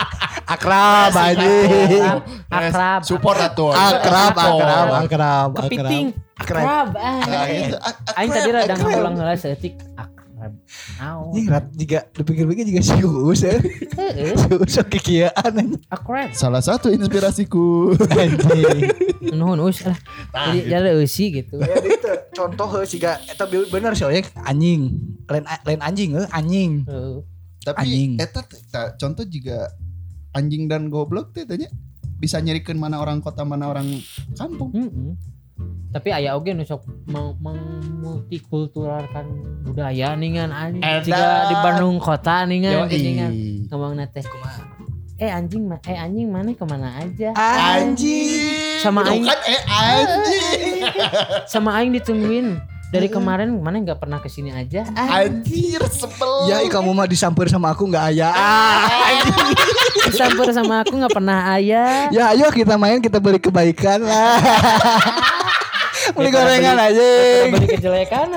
Akrab anjing. Akrab, akrab. Support atuh. Akrab, akrab, Support. akrab, Kepiting, akrab. akrab. Nah, Ah. gitu. A- a Aing crab, tadi a rada crab. ngulang heula seetik akrab. Naon? Anjing rat juga dipikir-pikir juga si Uus ya. Heeh, Si Uus sok kikieuan anjing. akrab. Salah satu inspirasiku. Anjing. Nuhun us lah. Jadi jadi eusi gitu. Ya itu contoh heuh siga eta bener sih oyek anjing. Lain lain anjing heuh anjing. Heeh. Tapi Anjing. eta teh, tah, contoh juga anjing dan goblok teh tanya bisa nyerikeun mana orang kota mana orang kampung. Heeh. Tapi aya oge nu sok meng- multikulturalkan budaya ningan anjing. Edan. Jika di Bandung kota ningan Yoi. ningan ngomongna teh eh anjing ma- eh anjing mana kemana aja Anjing. Sama Tuh aing. kan eh anjing. sama aing ditungguin dari kemarin mana nggak pernah kesini aja ah, Anjir sebel. Ya kamu mah disamper sama aku enggak aya. Ah, disamper sama aku nggak pernah ayah ya ayo kita main kita beli kebaikan lah. Beli Daripada gorengan beli- aja. beli kejelekan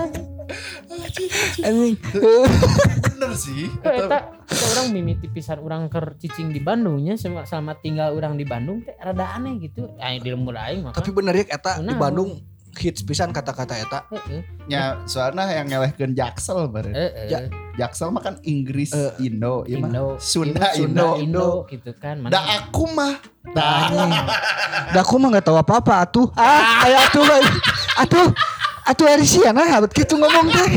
Anjing. Bener sih. kita kita orang mimiti pisan orang ker cicing di Bandungnya selama, selama tinggal orang di Bandung teh rada aneh gitu aing di lembur aing mah Tapi bener ya eta di Nah. Bandung hits pisan kata-kata eta. heeh Ya soalnya yang ngelehkeun Jaksel bareng. heeh Ya. Jaksel mah kan Inggris Eh, Indo, iya mah. Indo Sunda Sunda Indo. Indo gitu kan Da aku mah. Da. Da aku mah enggak tahu apa-apa atuh. Ah, aya atuh. Atuh. Atuh Arisia nah abet kitu ngomong teh.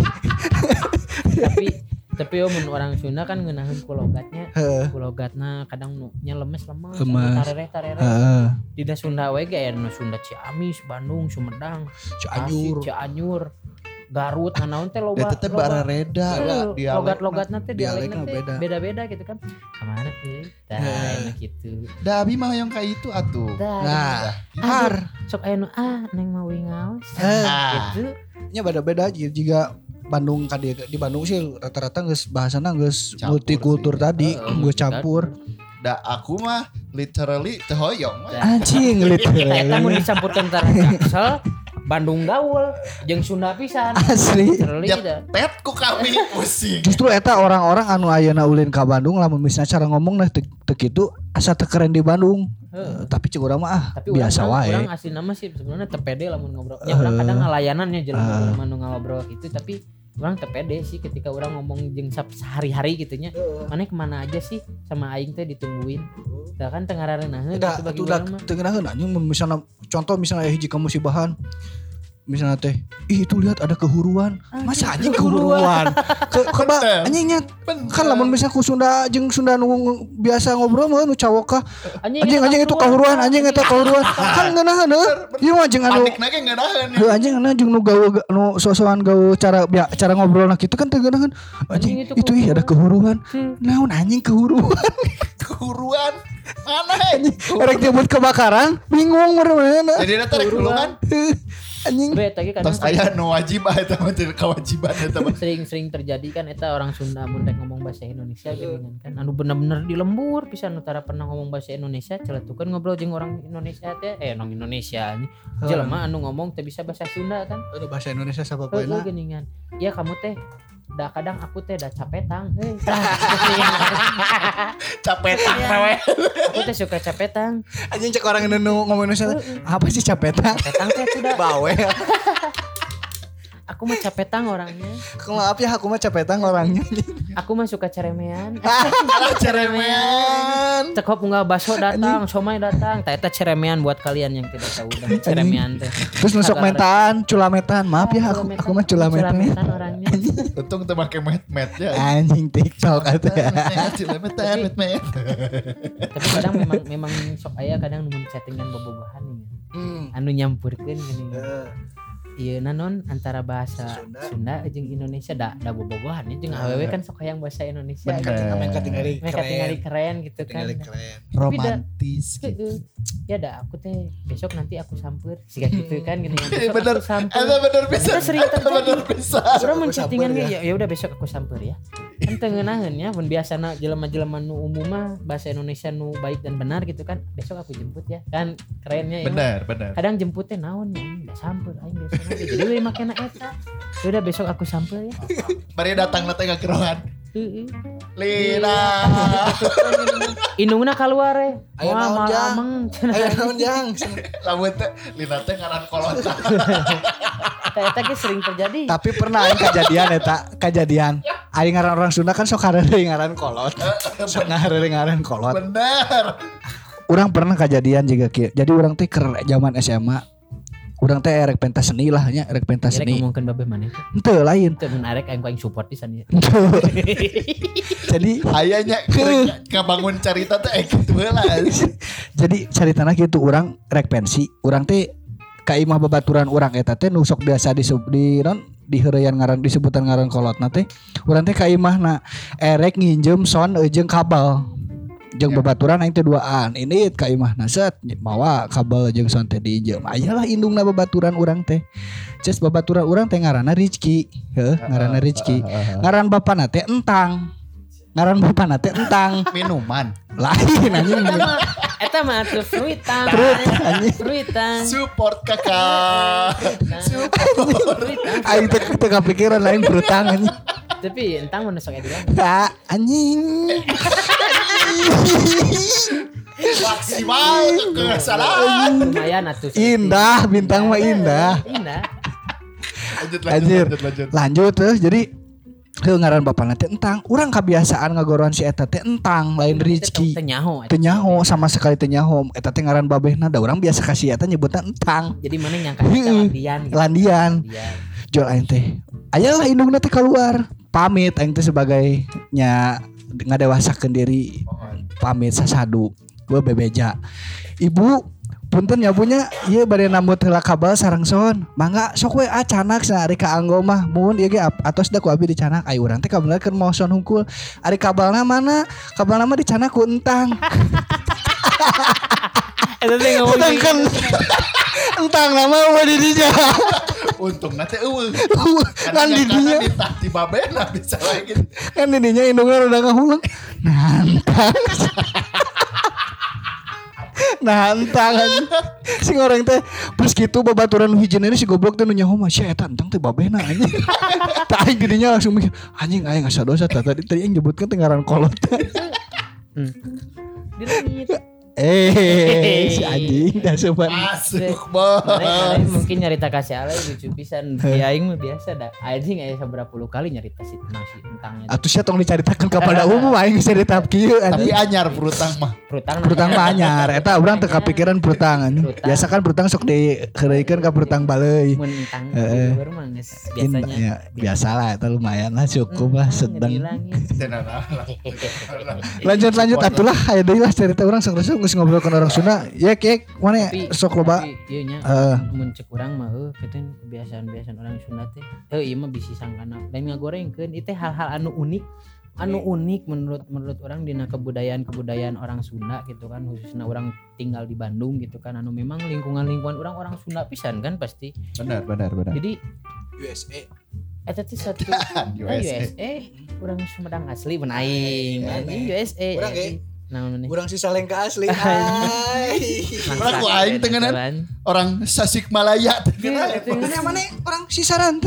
tapi tapi yo mun orang Sunda kan ngeunaheun ku logatnya Heeh. ku logatna kadang nu nya lemes lemes Lemes. tarereh tarereh Heeh. di da Sunda we ge aya nu Sunda Ciamis Bandung Sumedang Cianjur. Tasik, Cianjur Garut nah naon teh loba Eta teh barareda Heeh, dialek. logat-logatna teh dialekna dialekna teh beda. beda-beda gitu kan kemana teh tah Heeh. enak gitu Da abi mah yang kayak itu atuh. tah Nah, aduh, har. sok aya nu ah neng mau ngaos Eh. gitu nya beda-beda aja juga Bandung kan di, di Bandung sih rata-rata geus bahasana geus Campur multikultur sih. tadi Heeh, geus campur. Da aku mah literally teu hoyong. we. Anjing Tah eta mun literally. dicampurkeun antara Jaksel Bandung gaul jeung Sunda pisan Asli. literally Ya dah. tet ku kami pusing. Justru eta orang-orang anu ayeuna ulin ka Bandung lamun misalnya cara ngomong nah teu teu kitu asa teu keren di Bandung. Heeh. Eh, Tapi cek urang mah ah Tapi biasa orang, wae. orang asli nama sih sebenarnya tepede lamun ngobrol. Ya orang kadang ngalayanannya jelema uh. ngobrol gitu tapi orang tepede sih ketika orang ngomong jeung sap- sehari-hari gitunya. Mana kemana aja sih sama aing teh ditungguin. Tah kan teu ngarareunahkeun Udah, gitu bagi atuh udah urang mah. teu ngeunaheun anjing mun misalnya contoh misalnya hiji kamu musibahan misalnya teh, ih itu lihat ada kehuruan. Masa anjing kehuruan? Ke keba anjingnya kan lamun misalnya ku Sunda jeung Sunda nu biasa ngobrol mah nu cawok kah. Anjing anjing itu kehuruan, anjing eta kehuruan. Kan ngeunaheun heuh. Ieu mah jeung anu panikna ge ngeunaheun. Heuh anjing anu jeung nu gawe nu sosokan gawe cara cara ngobrolna kitu kan teu ngeunaheun. Anjing itu ih ada kehuruan. Naon anjing kehuruan? Kehuruan. Mana anjing? Erek nyebut kebakaran, bingung mana. Jadi eta rek kehuruan. Anjing. Terus aya nu wajib eta mah teu kewajiban eta mah. Sering-sering terjadi kan eta orang Sunda mun rek ngomong bahasa Indonesia geuningan kan anu bener-bener di lembur pisan nu tara pernah ngomong bahasa Indonesia celetukeun ngobrol jeung orang Indonesia teh eh orang Indonesia nya jelema anu ngomong teh bisa bahasa Sunda kan Aduh bahasa Indonesia sapa poe poena geuningan ya kamu teh da kadang aku teh da capetang heuh capetang we aku teh suka capetang anjing cek orang nu ngomong Indonesia apa sih capetang capetang teh sudah bawe aku mah capetang orangnya. Maaf ya aku mah capetang orangnya. Aku mah suka ceremean. Ceremean. Cek hop enggak bakso datang, somai datang. Tah eta ceremean buat kalian yang tidak tahu dan ceremean teh. Terus nusuk metan, culametan. Maaf ya aku aku mah culametan. Culametan orangnya. Untung teu make met-met ya. Anjing TikTok atuh. Culametan, met-met. Tapi kadang memang memang sok aya kadang nu chattingan bobogohan nih. Anu nyampurkeun gini. Iya nanon antara bahasa Sunda, Sunda jeung Indonesia da da bobogohan jeung awewe kan sok hayang bahasa Indonesia mereka tinggali mereka tinggali keren gitu kan romantis gitu. Ya da aku teh besok nanti aku samper siga gitu kan gini bener ada bener bisa sering bener bisa urang mun chattingan ya ya udah besok aku samper ya kan teu ngeunaheun nya mun biasana jelema-jelema nu umum mah bahasa Indonesia nu baik dan benar gitu kan besok aku jemput ya kan kerennya ya benar benar kadang jemputnya naon ya udah samper aing biasa jadi we makena eta. Udah besok aku sampel ya. Bari datang na teh ka kerohan. Heeh. Lina. Indungna kaluar we. Aya naon jang? Aya naon jang? Lamun teh Lina teh ngaran kolot. Eta ge sering terjadi. Tapi pernah aing kejadian eta, kejadian. Aing ngaran orang Sunda kan sok hareureung ngaran kolot. Sok hareureung ngaran kolot. Bener. Urang pernah kejadian juga kieu. Jadi urang teh keur zaman S M A. Urang teh erek pentas seni lah nya, erek pentas seni. Erek ngomongkeun babeh maneh. Henteu lain. Teu mun arek aing paling support pisan ieu. Jadi aya nya kabangun carita teh kitu heula. Jadi caritana kitu urang rek pensi, urang teh ka imah babaturan urang eta teh nu sok biasa di di non di heureyan ngaran disebutan ngaran kolotna teh. Urang teh ka imahna erek nginjem sound jeung kabel. Jeung babaturan aing teh duaan. Ini ka imahna set mawa kabel jeung sound teh diinjem. Ayalah indungna babaturan urang teh. Ces babaturan urang teh ngaranna Rizky. Heuh, ngaranna Rizky. Ngaran bapana teh Entang. Ngaran bapana teh Entang. Minuman. Lain anjing. Eta mah atuh fruitang. Fruitang. Support kakak. Support. Aing teh teu kapikiran lain frutang anjing. Tapi entang mana sok edian. Ah, anjing. Maksimal kesalahan. Lumayan atuh. Indah, bintang mah indah. Indah. Lanjut lanjut lanjut lanjut. Lanjut terus jadi heuh ngaran bapana teh Entang. Urang kebiasaan ngagoroan si eta teh Entang lain Rizky. Teu nyaho. Teu nyaho sama sekali teu nyaho. Eta teh ngaran babehna da urang biasa kasih eta nyebutna Entang. Jadi mana nyangka eta landian. Landian. Jual aing teh. Ayalah indungna teh keluar. Pamit aing teh sebagai nya ngadewasakeun diri. Pamit sasadu. Gue bebeja. Ibu punten ya punya ieu bade nambut heula kabel sareng son. Mangga sok we acanak ari ka anggo mah. Mun ieu ge atos da ku abi dicanak. Ai urang teh kabelna keur moson hungkul. Ari kabelna mana? Kabelna mah dicanak ku Entang. Eta teh ngomong kan Entang nama mah di dinya. Untung nanti eueuh. Kan di dinya di babena bisa lagi. Kan di dinya indungna udah ngahuleng. Nantang. Nantang sing orang teh pas kitu babaturan hijieun ini si goblok teh nu nyaho mah sia eta entang teh babehna anjing. Tah aing didinya langsung mikir anjing aya ngasadosa tah tadi tadi yang nyebutkeun teh ngaran kolot. Hmm. Dilengit. Eh, si anjing dah sopan. Masuk bos. Mana mungkin nyarita kasih alay lucu pisan. Ki aing mah biasa dah. Anjing aya saberapa puluh kali nyarita si tentang si tentangnya. Atuh sia tong dicaritakeun kepada umum aing geus cerita kieu Tapi anjing. anyar perutang mah. Prutang Brutang mah anyar eta urang teu kapikiran brutang anjing. Biasa kan brutang sok dikeureukeun ka brutang baleui. mun tentang Heeh. baru mah geus biasanya. Ya, biasalah eta lumayan lah cukup lah sedang. Lanjut lanjut atulah aya deui lah cerita urang sok resep geus ngobrolkeun orang Sunda. Ya kek mana sok loba. Tapi ieu nya Heeh. mun cek urang mah heuh keten kebiasaan-kebiasaan orang Sunda teh. Heuh ieu mah bisi sangkana. Lain ngagorengkeun ieu teh hal-hal anu unik. Anu unik menurut menurut orang dina kebudayaan-kebudayaan orang Sunda gitu kan, khususnya orang tinggal di Bandung gitu kan, anu memang lingkungan-lingkungan orang orang Sunda pisan kan pasti. Benar benar benar. Jadi U S A. eta teh satu U U S A. S A urang Sumedang asli mun aing anjing U S A. Urang ge naon nih? urang si Salengka asli. Ai. Urang ku aing tengenan orang Tasikmalaya teh. Mana mana orang si Saranten.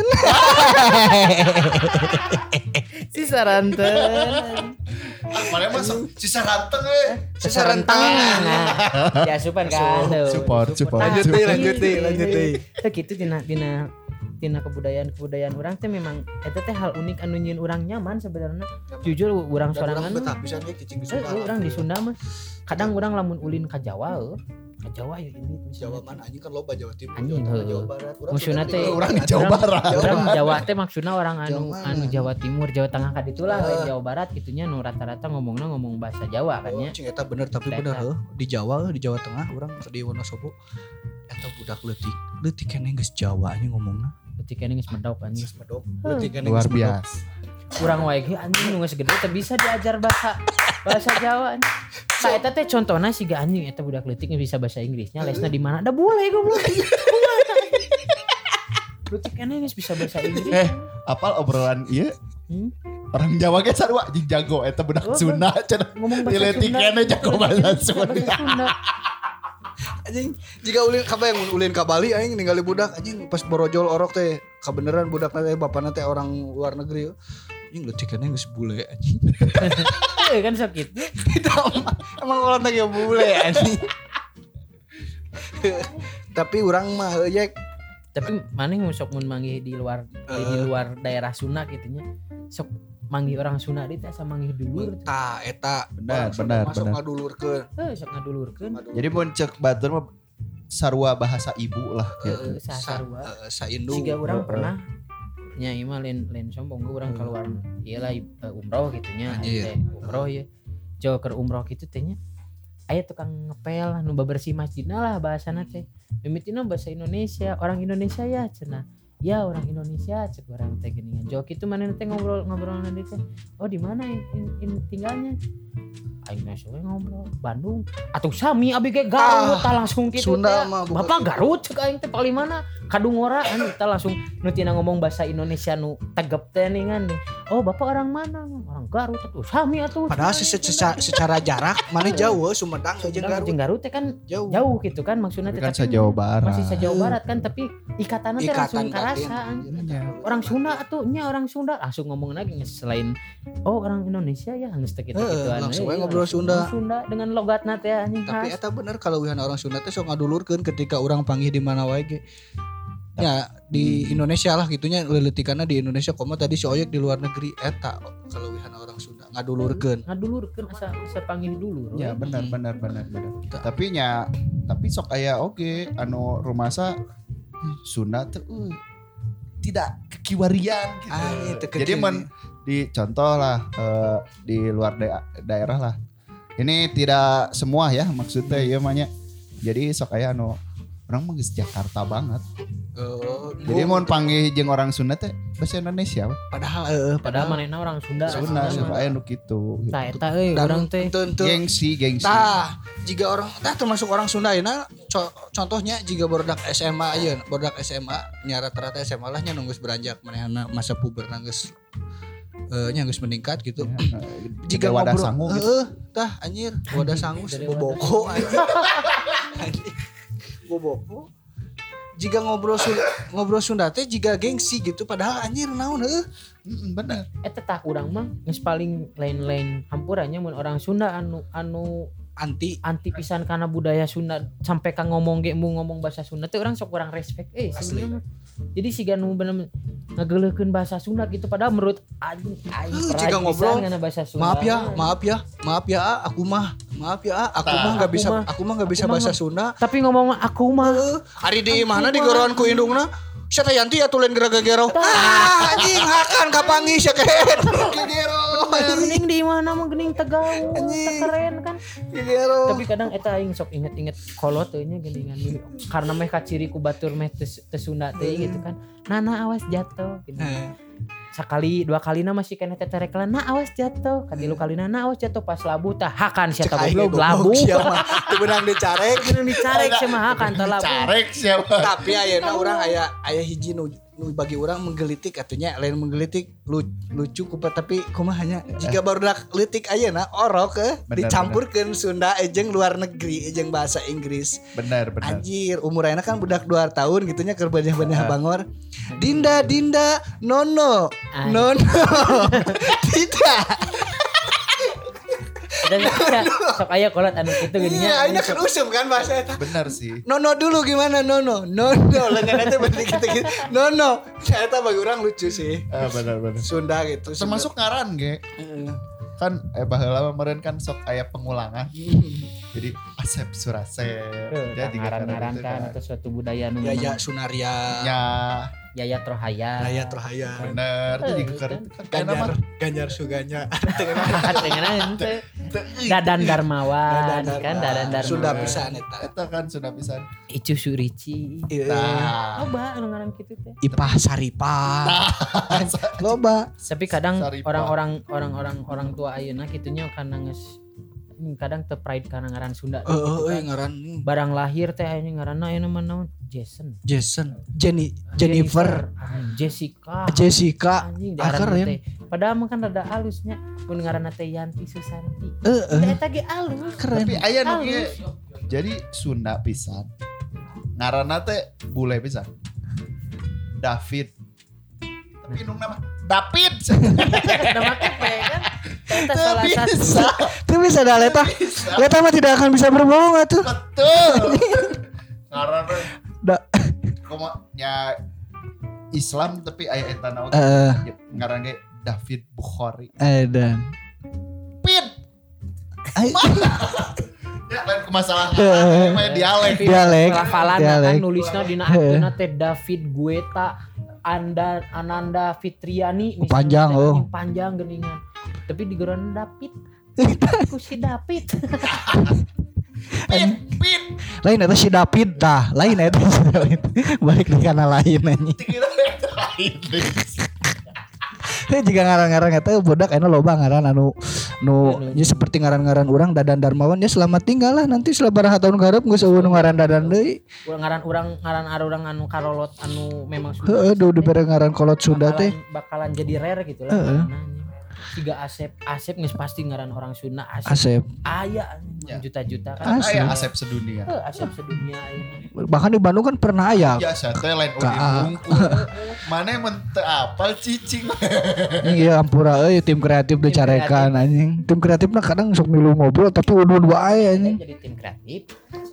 Si Saranten. Mana masuk sisa ranteng eh. Si Sarantang. Ya asupan kan. tuh. Support, support. Lanjut deui, lanjut deui, lanjut deui. Teh kitu dina dina dina kebudayaan-kebudayaan urang teh memang eta teh hal unik anu nyieun urang nyaman sebenarnya. Jujur urang sorangan mah. Bisa ge cicing di Eh, urang di Sunda mah kadang urang lamun ulin ka Jawa heuh. Ka Jawa ya ini Jawa mana anjing kan loba Jawa Timur, Anjing, Jawa Tengah, heuh. Jawa Barat. Urang Maksudna Sunda teh di- Urang di Jawa Barat. Urang Jawa teh maksudna orang anu Jawa mana? anu Jawa Timur, Jawa Tengah ka ditu lah, Ah. lain Jawa Barat gitunya nu rata-rata ngomongna ngomong bahasa Jawa kan Oh, nya. cing eta bener tapi Eta. bener heuh di Jawa di Jawa Tengah urang di Wonosobo eta budak leutik leutik keneh geus Jawa nya ngomongna Ketika ini geus medok anjing. geus medok leutik keneh Luar geus medok. biasa. Urang wae ge anjing nu geus gede teh bisa diajar bahasa bahasa Jawa. Nah eta teh contohna siga anjing eta budak leutik bisa bahasa Inggrisnya lesna di mana? Da boleh goblok. Leutik keneh geus bisa bahasa Inggris. Eh, apal obrolan ieu? Hmm? Orang Jawa ge sarua anjing jago eta budak Oh, Sunda cenah. Ngomong bahasa Diletik Sunda. keneh jago bahasa Bahasa Sunda. Sunda. Anjing jika ulin kabayang mun ulin ka Bali aing ningali budak anjing pas borojol orok teh kabeneran budak teh bapana teh orang luar negeri anjing leutik keneh geus bule anjing. Eh kan sakit. Emang orang teh bule anjing. Tapi urang mah heuh yek Tapi maneh sok mun manggih di luar di, di luar daerah Sunda gitunya. Sok manggih orang Sunda di teh asa manggih dulur. ta eta Benar, orang Sunda benar, masuk benar. ngadulurkeun. Heuh sok ngadulurkeun. Jadi mun cek batur mah sarua bahasa ibu lah gitu. Heuh sasarua. Eh, Saindu. Siga urang Heeh. pernah nya ieu mah lain lain sombong gue urang keluar ieu lah uh, umroh gitunya Anjir. teh umroh ya jauh ke umroh gitu tehnya aya tukang ngepel nu bebersih masjidna lah bahasana teh mimitina bahasa Indonesia orang Indonesia ya cenah ya orang Indonesia cek orang teh geuningan jauh kitu manehna teh ngobrol ngobrol nanti teh oh di mana in, in, in tinggalnya aing mah soe ngobrol Bandung atuh sami abi ge Garut tah langsung kitu Sunda teh. mah bukan Bapak gitu. Garut cek aing teh paling mana kadungora anu kita langsung nu tina ngomong bahasa Indonesia nu tegep teh ningan oh bapak orang mana orang Garut atuh sami atuh Padahal se- secara, secara jarak mana jauh Sumedang jeung Garut jeung Garut teh kan jauh. jauh gitu kan maksudnya Tapi teh kan tapi sa-Jawa Barat. masih sa-Jawa Barat kan tapi ikatanna teh langsung Ikatan karasa batin. anjing. Iya. Orang Sunda atuh nya orang Sunda langsung ngomong lagi selain oh orang Indonesia ya geus teh Heeh, kitu-kituan langsung we Eh, ngobrol langsung Sunda. ngomong Sunda dengan logatna teh anjing Tapi khas. eta bener kalau wihan orang Sunda teh sok ngadulurkeun ketika orang panggih di mana wae ge. Ya di Indonesia lah gitunya leletikanna di Indonesia koma tadi si Oyek di luar negeri eta kalau wihan orang Sunda ngadulurkeun. ngadulurkeun asa asa panggil dulu Ya benar benar benar benar. Tapi nya tapi sok aya oge anu rumasa Sunda teh uh, tidak kekiwarian gitu. Ah, itu Jadi kecil. men di contoh lah eh, di luar da- daerah lah. Ini tidak semua ya maksudnya ya manya. Jadi sok aya anu orang mah geus Jakarta banget. Oh, Jadi oh, mau panggil jeung orang Sunda teh bahasa Indonesia we. padahal eh padahal manehna orang Sunda Sunda aslinya sok mah. aya nu kitu. gitu. Tah eta euy dan urang teh tentu Gengsi, gengsi. tah jika orang tah termasuk orang Sunda ayeuna co- contohnya jika bordak S M A ayeuna bordak S M A nya rata-rata S M A lah nya nunggus beranjak manehna masa puber geus eh nya geus meningkat gitu. Ya, Jika jika wadah ngobrol- sangu gitu. Heeh, tah anjir wadah sangu Dari boboko anjir. Anjir, boboko. Jika ngobrol Sunda, ngobrol Sunda teh jika gengsi gitu padahal anjir naon heuh. Mm, bener. eta tak urang mah geus paling lain-lain hampurannya mun orang Sunda anu anu anti anti pisan karena budaya Sunda sampai ka ngomong ge mu ngomong bahasa Sunda teh urang sok kurang respect eh sebenarnya. Jadi si ganu bener ngageuleukkeun bahasa Sunda gitu padahal menurut aing aing jika ngobrol bahasa Sunda. Maaf ya, maaf ya, maaf ya, aku mah, maaf ya, aku mah enggak bisa, aku mah enggak bisa bahasa Sunda. Tapi ngomong aku mah, ari di mana di goroan ku indungna? Siapa Yanti ya tulen gera-gero. Ah, anjing hakan kapangi sia kehet. Gero. Gening di mana mah gening Tegal. Keren kan. Gero. Tapi kadang eta aing sok inget-inget kolot teh nya geningan karena meh kaciri ku batur meh teu Sunda teh gitu kan. Nana awas jatuh gitu. Sekali dua kalina masih kena teterekelan nah awas jatuh kadilu kalina nah awas jatuh pas labu tah hakan sia tah goblok labu teu beunang dicarek beunang dicarek sia mah hakan tah labu carek siapa tapi ayeuna urang aya aya hiji nu nu bagi orang menggelitik atunya lain menggelitik lu, lucu kupat tapi kumaha hanya jika barudak leutik ayeuna orok ke dicampurkeun Sunda ejeng luar negeri ejeng bahasa Inggris benar benar anjir umur ayeuna kan budak dua tahun gitunya keur banyak-banyak bangor Dinda Dinda Nono Ay. Nono tidak dan sok aya kolot anu kitu geunya. Iya, ayeuna kan usum kan bahasa eta. Benar sih. Nono dulu gimana Nono? Nono lengan teh berarti gitu-gitu. Nono. Eta bagi orang lucu sih. Ah benar benar. Sunda gitu. Termasuk ngaran ge. Heeh. Kan eh baheula meureun kan sok aya pengulangan. Jadi Asep Surasep. Jadi ngaran-ngaran kan atau suatu budaya nu Yaya Sunaria. Ya Yayat Rohaya. Yayat Rohaya. Bener. Jadi kan Ganjar Ganjar Suganya. Tengenan teh. Dadan Darmawan kan Dadan Darmawan. Sunda pisan eta. Eta kan Sunda pisan. Icu Surici. Nah. Loba anu ngaran kitu teh. Ipah Saripah. Loba. Tapi kadang orang-orang orang-orang orang tua ayeuna kitunya karena geus kadang teu pride karena ngaran Sunda. Heeh, euy ngaran barang lahir teh ayeuna ngaranna ayeuna mah naon? Jason. Jason. Jenny Jennifer. Jessica. Jessica. Keren. Padahal mah kan rada halusnya mun ngaranna teh Yanti Susanti. Heeh. Eta ge alus. Keren. Tapi aya nu ge jadi Sunda pisan. Ngaranna teh bule pisan. David. Tapi nu nama David. Nama kepe kan. Eta salah satu. Itu bisa dah Leta. Leta mah tidak akan bisa berbohong atuh. Betul. Ngaranna da koma nya Islam tapi aya eta naon. Heeh. Ngaran ge David Bukhari. Edan. Pit. Ai. Ya lain masalah namanya dialek. Dialek. Pelafalan kan nulisna dina aktuna teh David Gueta Anda Ananda Fitriani misalnya panjang oh panjang geningan tapi digeron David ku si David Pit pit lain eta si David tah lain eta si David balik di kana lain anjing Heh jika ngaran-ngaran eta budak anu loba ngaran anu nu nya seperti ngaran-ngaran urang Dadan Darmawan ya selamat tinggal lah nanti sabaraha tahun garep geus eueuh ngaran Dadan deui. Ngaran urang ngaran urang anu karolot anu memang Sunda. Heeh do dibere ngaran kolot Sunda teh. Bakalan jadi rare gitu lah. Heeh. Siga Asep, Asep geus pasti ngaran orang Sunda Asep. Asep. Aya juta-juta kan. Aya Asep sedunia. Heeh, Asep sedunia ini. Bahkan di Bandung kan pernah aya. Ya saya teh lain udi bungkul. Mane mun teu apal cicing. Iya ampura euy tim kreatif dicarekan anjing. Tim kreatifna kadang sok milu ngobrol tapi udun wae anjing. Jadi tim kreatif.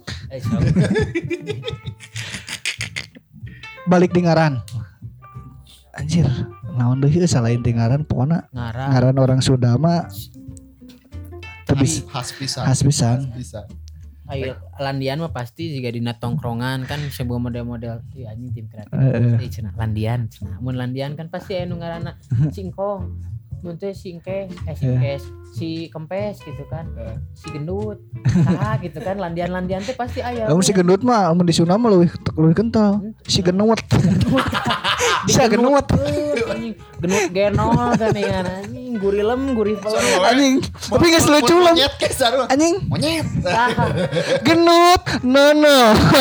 Balik di ngaran. Anjir, naon deui salain di ngaran pokona ngaran, ngaran orang Sunda mah tebis khas pisan. Khas pisan. Ayo landian mah pasti juga dina tongkrongan kan sebuah model-model ieu anjing tim kreatif. Heeh cenah landian cenah. Mun landian kan pasti anu ngaranna singkong. Mun teh singkes, eh singkes, si kempes gitu kan. Si gendut. Tah gitu kan landian-landian teh pasti aya. Lamun si gendut mah mun di Sunda mah leuwih leuwih kental. Si genut. Bisa genut. Anjing genut genol kan anjing gurilem gurih pelem anjing. Tapi geus lucu lem. Anjing. Monyet. Genut nono.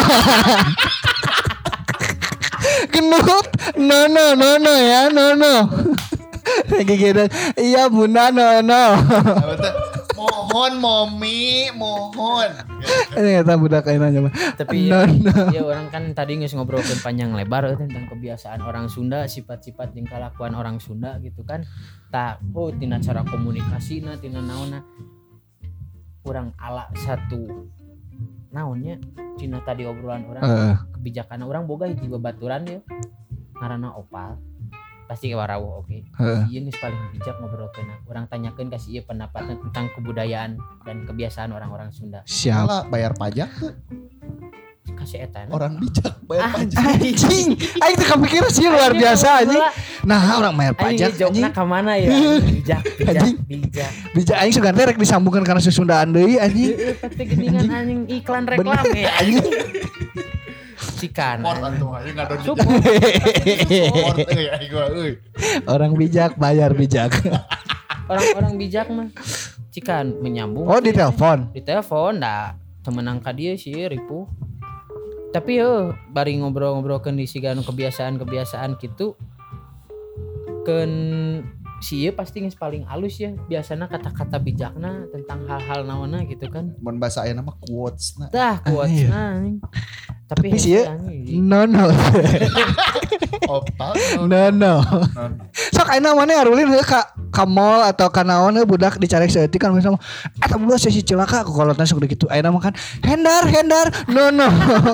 Genut nono nono ya nono. Lagi gitu. Iya bunda nono. Mohon momi mohon. Ini kata budak ayeuna mah. Tapi ya, ya orang kan tadi geus ngobrolkeun panjang lebar tentang kebiasaan orang Sunda, sifat-sifat jeung kalakuan orang Sunda gitu kan. Tah oh tina cara komunikasina tina naonna. kurang ala satu naonnya Cina tadi obrolan orang Uh. kebijakan orang boga hiji babaturan ya ngaranna opal pasti warawuh oke. Heeh. Ieu geus paling bijak ngobrolkeun. Urang tanyakeun ka si ieu pendapatna tentang kebudayaan dan kebiasaan orang-orang Sunda. Siap. Malah bayar pajak tuh. Kasih eta. Orang bijak bayar pajak. Anjing, aing teu kapikir sih luar biasa anjing. Nah, orang bayar pajak anjing. anjing. Anjing ka mana ya? Bijak, bijak, Anjing. bijak. Bijak aing sugan teh rek disambungkeun kana Susundaan deui anjing. Heeh, pasti geuningan anjing iklan reklam ya anjing. Cikan. Support atuh aing ngadon di Support. support euy aing gua euy. Orang bijak bayar bijak. Orang-orang bijak mah cikan menyambung. Oh, di telepon. Di telepon dah temenang ka dieu sih ripuh. Tapi yo bari ngobrol-ngobrolkeun di sigana kebiasaan-kebiasaan gitu keun si ieu pasti geus paling alus ya biasana kata-kata bijakna tentang hal-hal naonna gitu kan. Mun bahasa ayeuna mah quotes na. Tah quotes-na. Tapi, Tapi sih ya, anjing. no no. Opal. No no. No. Sok ayeuna maneh arulin heuh ka ka mall atau ka naon heuh budak dicarek saeutik kan misalnya eta budak sesi celaka ku kolotna sok dikitu ayeuna mah kan hendar hendar no no.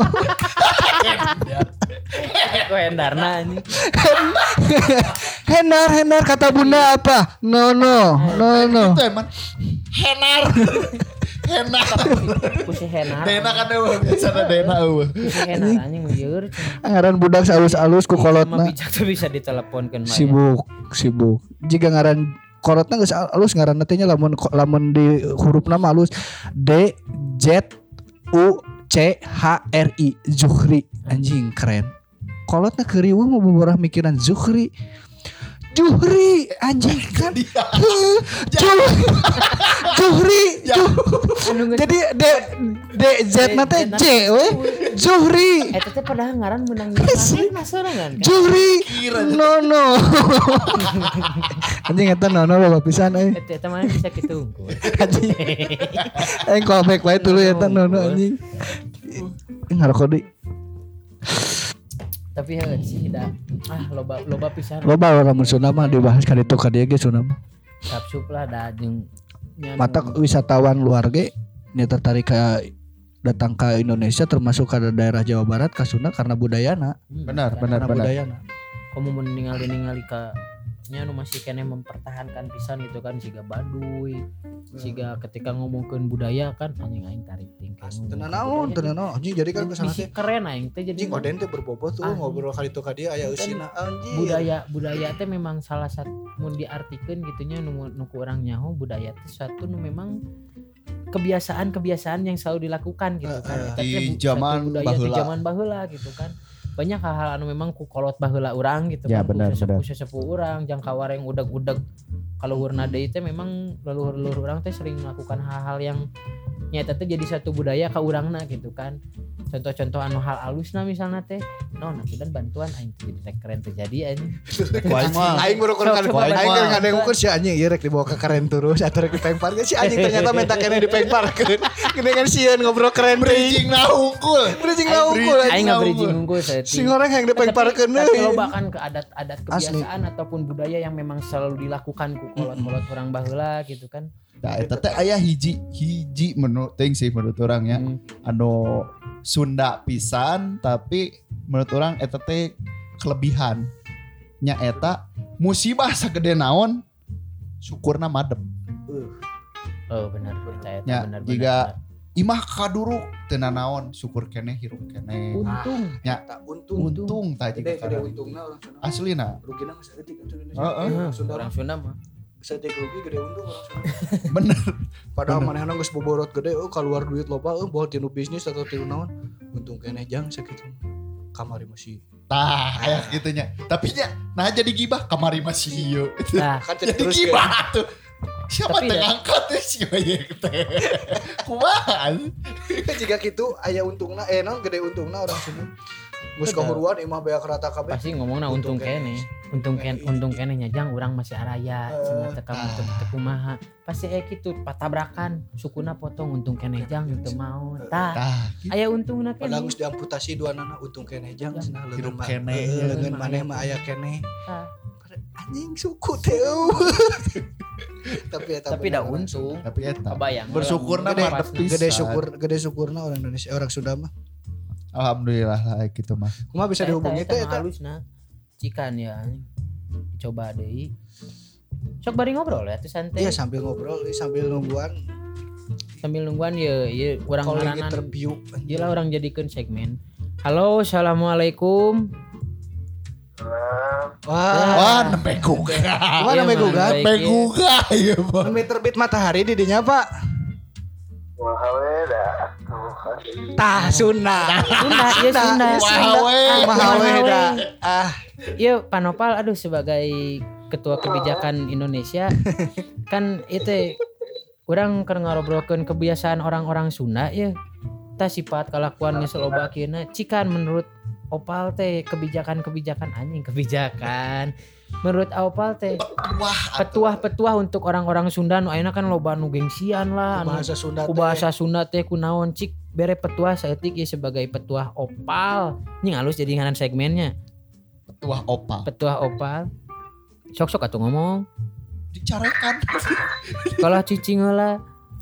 Kok endarna anjing. Hendar hendar kata bunda apa? No no no no. Itu emang henar. Henar. Kusi henar. Dena kan eueuh biasana dena eueuh. Kusi henar anjing lieur. Ngaran budak alus-alus ku Mah kolotna. bijak tuh bisa diteleponkeun mah. ya. Sibuk sibuk. Jika ngaran kolotna geus alus ngaran teh nya lamun lamun di hurufna mah alus D Z U C H R I Zuhri anjing keren. Kolotna keurieuh mah boborah mikiran Zuhri. Juhri anjing kan. Heuh, Juh- Juhri. Juh- Anu geus- Jadi D D Z na teh J we. Zuhri. Eta teh padahal ngaran menang nyanyi nasorangan kan. Juhri. No no. Anjing eta no no loba pisan euy. Eta eta mana bisa kitu unggul. Anjing. Aing callback wae dulu eta no no anjing. Ih ngarokok deui. Tapi ya sih da ah loba loba pisan. Loba lamun Sunda mah dibahas ka ditu ka dieu ge Sunda mah. Kapsup lah da jeung nya Mata nu- wisatawan luar ge nya tertarik ka datang ke Indonesia termasuk ke daerah Jawa Barat ka Sunda karena budayana. Hmm, Benar, karena benar, Karena benar. budayana. Kamu mau ningali-ningali ka nya nu masih kene mempertahankan pisan gitu kan siga Baduy. Siga ketika ngomongkeun budaya kan anjing aing tarik tingkah. Tenan naon, tenan naon. Anjing jadi kan kesana Bisi teh. keren aing teh jadi Anjing Oden teh berbobot tuh Anjing. ngobrol kali itu ka dia aya eusina anjing. budaya budaya teh memang salah satu mun diartikeun gitunya nu nu ku urang nyaho budaya teh suatu nu memang kebiasaan-kebiasaan yang selalu dilakukan gitu kan. Uh, uh, Eta teh di bu- zaman satu budaya di baheula. zaman baheula gitu kan. Banyak hal-hal anu memang ku kolot baheula urang gitu Ya, kan. benar, ku benar. sesepuh urang jang kawareng udag-udag kaluhurna deui teh memang leluhur-leluhur urang teh sering melakukan hal-hal yang nyata teh jadi satu budaya ka urangna gitu kan. Contoh-contoh anu hal alusna misalnya teh non aku dan bantuan aing teh jadi rek keren terjadi anjing. Kuaing mah. Aing baru kan Coba, coba, aing coba. kan ngadengkeun si anjing ieu rek dibawa ke keren terus atuh rek dipengpar si anjing ternyata menta kene dipengparkeun. Gedengan sieun ngobrol keren teuing. Bridging na unggul. Bridging na unggul Aing anjing. nggak bridging unggul saya. Sing orang yang dipengparkeun Tapi deui. loba kan ke adat-adat kebiasaan ataupun budaya yang memang selalu dilakukan ku kolot-kolot orang baheula gitu kan. Nah, eta teh aya hiji hiji menurut teuing sih menurut urang ya. Hmm. Anu Sunda pisan tapi menurut orang eta teh kelebihan nya eta musibah sagede naon syukurna madem. Oh benar percaya Ya, benar jika imah kaduruk teu naon syukur keneh hirup keneh. untung Ya, Tak untung. untung tah Gede jiga gede kada. untungna orang Sunda. Aslina. Rugina mah saeutik atuh Indonesia. Heeh. Heeh, Sunda orang Sunda mah saeutik rugi gede untung orang Sunda. Bener. Padahal manehna geus boborot gede euy keluar duit loba euy bawa tinu bisnis atau tinu naon. Untung keneh jang sakitu. Kamari masih. Tah, aya gitunya. Tapi nya nah jadi gibah kamari masih ieu. nah Kan Jadi terus ke. gibah tuh. Siapa Tapi teh ya- ngangkat teh si Bayek teh. Kumaha? Jika gitu aya untungna eh naon gede untungna orang Sunda. Geus Betul. kahuruan imah beak rata kabeh. pasti ngomongna untung kene untung kene untung kene nya jang urang masih araya cenah teu kamu teu teu kumaha pasti aya kitu patabrakan sukuna potong untung kene jang teu mau tah Tah, aya untungna Padahal kene geus diamputasi dua nana untung keneh jang cenah leungeun Hirup mah. keneh, Heeh, leungeun leungeun maneh mah mah aya keneh. tah anjing suku teh. Tapi eta Tapi dah untung. Tapi eta Kebayang. bersyukurna gede, mah pisan. gede syukur gede syukurna orang Indonesia orang Sunda mah. Alhamdulillah lah gitu mah. Kumaha bisa dihubungi teh eta? Halusna. Cikan ya. Coba deui. Sok bari ngobrol ya tuh santai. Iya sambil ngobrol sambil nungguan Sambil nungguan ya ya urang calling ngaranan. interview. Gila orang jadikeun segmen. Halo, assalamualaikum. Wah, Wah, nempe gugah. Kumaha Iya, namanya man, gugah? baik, Nempe iya. gugah ya, Bang. Nembe terbit matahari di dinya, Pak. Tah Sunda. Sunda, ya Sunda. Wahawe. Kumaha we da? Ah, Iya, Panopal aduh sebagai ketua kebijakan Indonesia kan itu orang keur ngarobrolkeun kebiasaan orang-orang Sunda ya. Tah sifat kalakuan geus loba kieuna cikan menurut Opal teh kebijakan-kebijakan anjing kebijakan. Menurut Opal teh Wah, petuah-petuah untuk orang-orang Sunda nu ayeuna kan loba nu gengsian lah anu bahasa Sunda. ku bahasa Sunda teh kunaon cik bere petuah saeutik ya sebagai petuah Opal. Ini halus jadi ngaran segmennya. Petuah Opal. Petuah Opal. Sok-sok atuh ngomong. Dicarekan. Kalau cicing heula.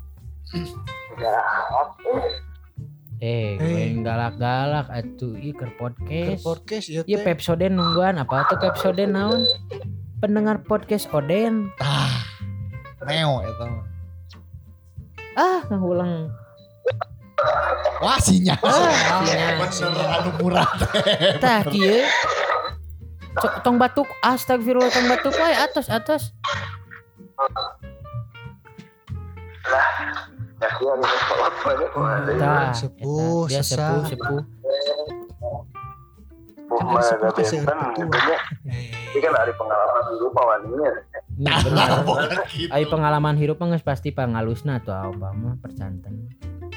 Eh, gue galak-galak atuh ieu keur podcast. Podcast ya Ieu teh. Pepsoden nungguan apa tuh Pepsoden naon? Pendengar podcast Oden. Ah. Meo eta. Ah, ngulang. Wah, sinyal. Ah, sinyal. Bener anu murah teh. Tah kieu. Cok tong batuk astagfirullah tong batuk wae atos atos. Tah, Sepuh, eta, dia sesah. sepuh sepuh. Kan sepuh teh seueur petua. Ini kan ada pengalaman dulu pawaninya. Nah, benar. Gitu. Ai pengalaman hirup mah geus pasti pangalusna tuh apa mah percanten.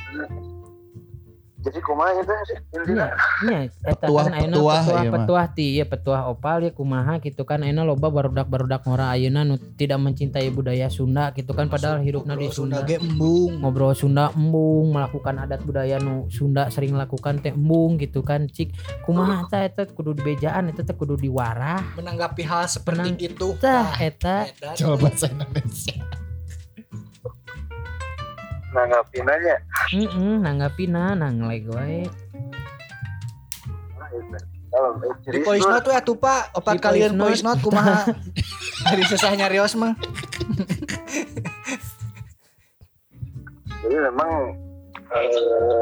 Jadi kumaha itu sih intinya. Nya eta Petuah- kan ayeuna petuah, petuah iya mah. petuah ti ieu petuah Opal ya kumaha gitu kan ayeuna loba barudak-barudak ngora ayeuna nu tidak mencintai budaya Sunda gitu kan padahal hirupna di Sunda Sunda. ge embung. Ngobrol Sunda embung melakukan adat budaya nu Sunda sering lakukan teh embung gitu kan cik kumaha tah eta kudu dibejaan eta teh kudu diwarah Menanggapi hal seperti Menang- itu. tah eta Edan. Coba bahasa Indonesia. Nanggapin aja. heeh nanggapina nangleg wae. Nah, itu. Kalau Di voice note tuh atuh Pak, opat Di kalian voice voice note kumaha? Dari susah nyarios mah. jadi memang eh,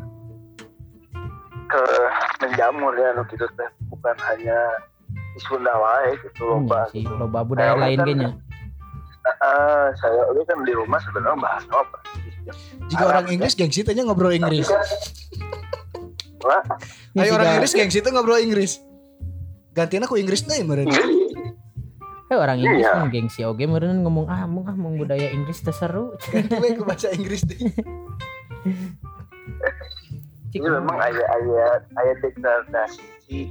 ke menjamur ya nu gitu teh bukan hanya di Sunda wae gitu Iya loba. sih loba budaya Nah, lain kan- ge nya. Eh, saya ini kan di rumah sebenarnya bahas apa? Jika orang Inggris gengsi tanya ngobrol Inggris. Wah, Ya, Ayo orang siga- Inggris gengsi tuh ngobrol Inggris. Gantian aku Inggris deh meureun. Eh orang Inggris Iya. mah gengsi oge meureun ngomong ah mung ah mung budaya Inggris teh seru. Ganti we ke bahasa Inggris deh. Cik, ini memang ayat-ayat ayat degradasi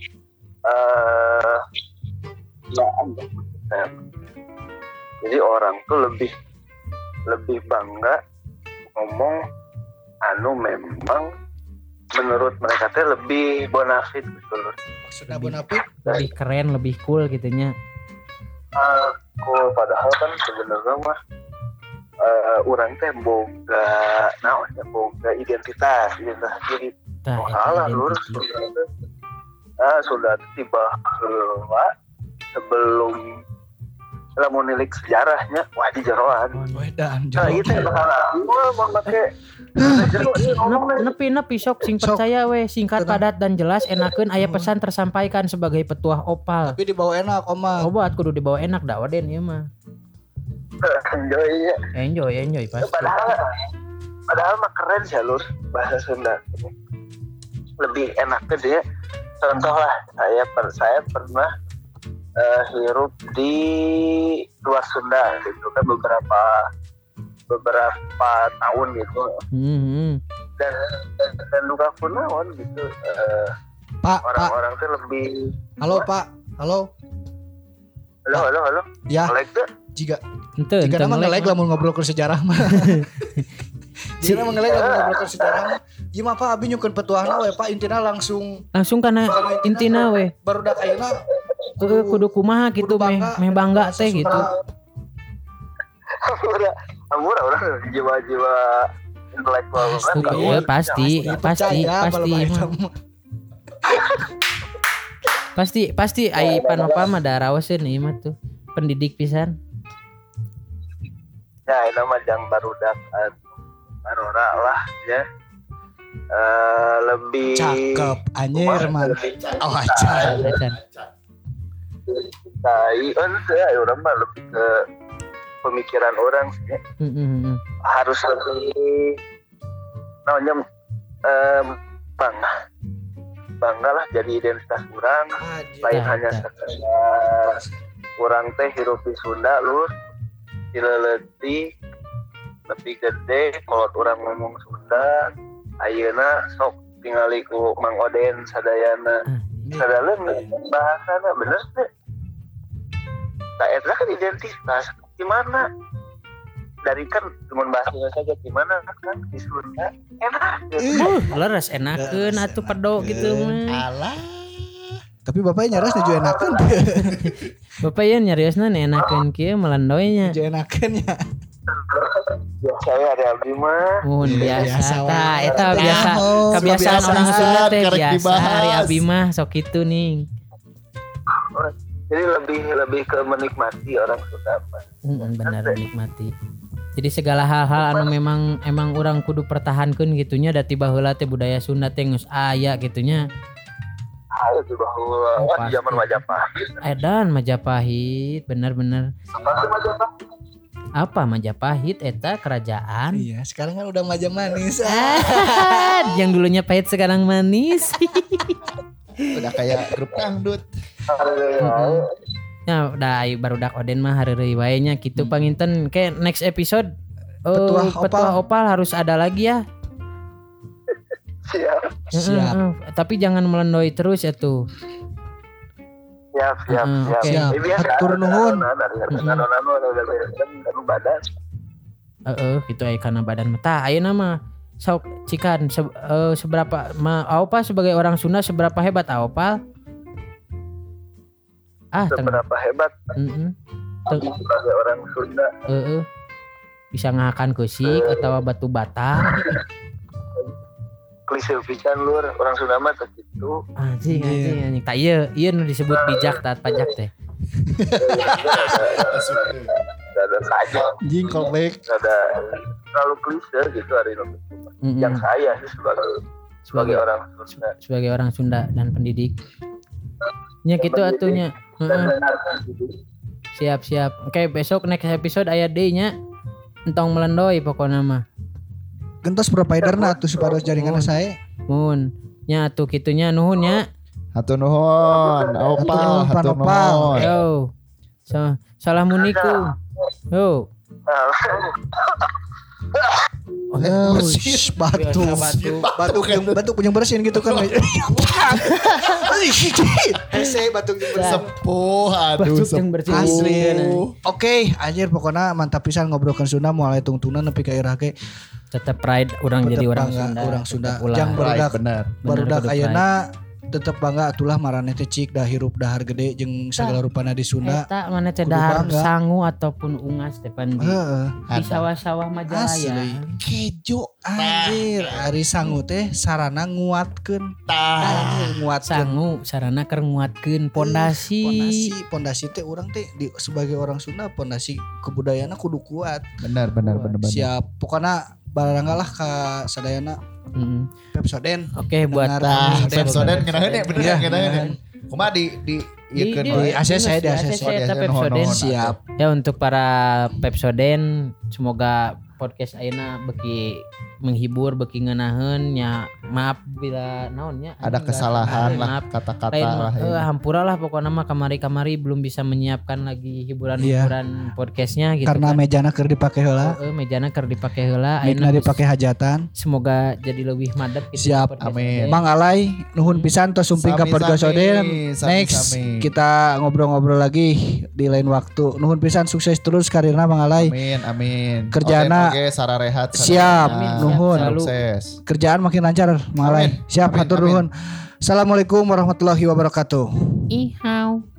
eh ya ada. Jadi orang tuh lebih lebih bangga ngomong anu memang menurut mereka teh lebih bonafit gitu loh. Maksudnya bonafit lebih keren, lebih cool gitunya. Aku padahal kan sebenarnya mah uh, orang teh boga naonnya boga identitas identitas diri. Tah, Oh, eta salah lur identity. sudah ah sudah tiba heula sebelum lamun nilik sejarahnya wah di jeroan. wedan Nah, jauh. itu salah. Gua mau make Nep- Nepi nepi sok sing Sok. percaya we singkat Tenang. padat dan jelas enakeun aya pesan tersampaikan sebagai petuah Opal. Tapi dibawa enak oma. Obat kudu dibawa enak dah Oden ieu mah. enjoy ya. Enjoy enjoy pasti. Padahal padahal mah keren sih lur bahasa Sunda. Lebih enak ke dia. Contoh lah saya per, saya pernah eh, hirup di luar Sunda gitu kan beberapa beberapa tahun gitu Hmm. dan dan, dan luka kunaon gitu eh, Pak, Pak. orang-orang tuh lebih Halo Pak. Halo. halo halo halo Ya, like tuh jika Henteu jika henteu nama ngelek ngelek mah. lamun ngobrol ke sejarah mah. Jika nama ngelek lamun ngobrol ke sejarah mah. Ieu mah Pak abi nyukeun petuahna we Pak intina langsung Langsung kana intina we. barudak ayeuna Heeh, kudu kumaha gitu meh meh bangga teh gitu. Ampura, ampura orang jiwa-jiwa intelektual kan. Iya pasti, pasti, pasti. Pasti, pasti ai panopa mah da raoseun ieu mah tuh. Pendidik pisan. Ya, ini mah jang barudak arora lah ya. Uh, lebih cakep anjir man. Oh acan. Tai, enggak ya orang mah lebih ke pemikiran orang sih. Mm-hmm. Harus lebih namanya um, bangga. Bangga lah jadi identitas orang. Lain ya, hanya ya. sekedar orang teh hirup di Sunda lur. Dileleti lebih gede kalau orang ngomong Sunda. Ayeuna sok tingali ku Mang Oden sadayana. Sadaleun bahasana bener teh. Tak eta kan identitas. Gimana? Dari kan cuma bahasanya saja gimana kan di Sunda enak. Uh, leres enakeun atuh pedo gitu mah. Alah. Tapi bapaknya nyaris nuju enakeun. Bapak ya nyariosna enakeun kieu melendoynya. Nuju enakeun nya. Saya ada abdi mah. Mun biasa tah eta Nah, biasa oh, kebiasaan kebiasaan, orang Sunda teh karek biasa dibahas. hari abdi mah sok kitu ning. Jadi lebih lebih ke menikmati orang Sunda mah. Heeh, bener nikmati. Jadi segala hal-hal anu memang emang orang kudu pertahankeun gitunya da tiba heula teh budaya Sunda teh geus aya gitunya. Ayo tuh bahwa Oh, wah, di zaman Majapahit. Edan Majapahit, bener-bener. Apa sih Majapahit? Apa Majapahit eta kerajaan? Iya, sekarang kan udah majam manis. Ah, yang dulunya pahit sekarang manis. Udah kayak grup dangdut. Heeh. Ya udah ai barudak Oden mah hareureuy wae nya kitu panginten ke next episode. Oh, Petuah petuah opal. opal harus ada lagi ya. Siap, Siap. Heeh, tapi jangan melendoi terus ya tuh. siap, siap, Heeh, siap. oke. Siap. Ini biasa, Hatur ada nuhun. adonan, ada adonan, ada adonan, ada adonan, ada badan. Heeh, gitu aya kana badan mata. Ayeuna mah sok cikan se, eh, seberapa ma Aopal sebagai orang Sunda seberapa hebat Aopal? Ah, teng. Seberapa hebat Heeh. Teng. sebagai orang Sunda. Heeh. Bisa ngahakan kusik atau batu bata. Klise pisan lur, orang Sunda mah teh kitu. Anjing, Iya. anjing, anjing. Tak ieu, ieu nu disebut bijak taat pajak teh. Ada saja, Anjing callback. ada terlalu klise gitu hari ini. Mm-mm. Yang saya sih sebagai sebagai orang Sunda. Sebagai orang Sunda dan pendidik. Nya gitu atunya. Heeh. Siap, siap. Oke, besok next episode aya deui nya. Entong melendoi pokona mah. Gentos providerna atuh supados jaringan saya. Mun. Nya atuh kitunya nuhun nya. Hatur nuhun, opal, Hatur hatur nuhun, Opal. nuhun. Yo. So, salamunikum. Yo. Oh, shh, batuk. Batuk. Batuk yang batuk yang bersin gitu kan. Hese batuk yang bersin. Sepuh, aduh Batuk yang bersih. Asli. sepuh. Oke, anjir pokoknya mantap pisan ngobrolkeun Sunda mulai tungtunan nepi ka irah ge. Tetap pride orang jadi orang Sunda. Orang Sunda. Tetep ulah. Jang Right, barudak bener. barudak kudu ayeuna tetep bangga atulah marane teh cik dah hirup dahar gede jeung segala rupana di Sunda. Eta mana teh Kudu dahar bangga. sangu ataupun ungas teh pan di, Heeh. di sawah-sawah Majalaya. Asli. Kejo anjir, ari sangu teh sarana nguatkeun. Tah. Anjir nguatkeun. Sangu sarana keur nguatkeun pondasi. Pondasi, pondasi teh urang teh di, sebagai orang Sunda pondasi kebudayaanna kudu kuat. Benar, benar, benar, benar. Siap. Pokoknya baranggalah ka sadayana Mm. Pepsoden. Oke buat Tah, Dengar. Pepsoden ngenaheun ya, bener Iya, ngenaheun. bener. Kumaha di di Di- ieukeun di- wae. A C C, di A C C. A C C, eta Pepsoden. Siap. Ya untuk para Pepsoden semoga podcast ayeuna beki menghibur beki ngeunaheun nya maaf bila naonnya Ada kesalahan lah maaf kata-kata lain lah. mah ya. eh, hampura lah pokoknya mah kamari-kamari belum bisa menyiapkan lagi hiburan-hiburan podcastnya gitu Karena kan. mejana keur dipake heula, Eh, mejana keur dipake heula micna ayeuna dipake hajatan. semoga jadi lebih madep gitu Siap. podcast Amin. teh. Mang Alay nuhun pisan tos sumping ka Sami-sami, podcast Oden. sami-sami. Next kita ngobrol-ngobrol lagi di lain waktu. Nuhun pisan sukses terus karirna Mang Alay. Amin, amin. Kerjaana- Oke, Sarah Rehat. Sarah Siap, Rehat. nuhun. Sukses. Kerjaan makin lancar Mang Alay. Amin. Siap Amin, hatur amin. nuhun. Assalamualaikum warahmatullahi wabarakatuh. Ihau.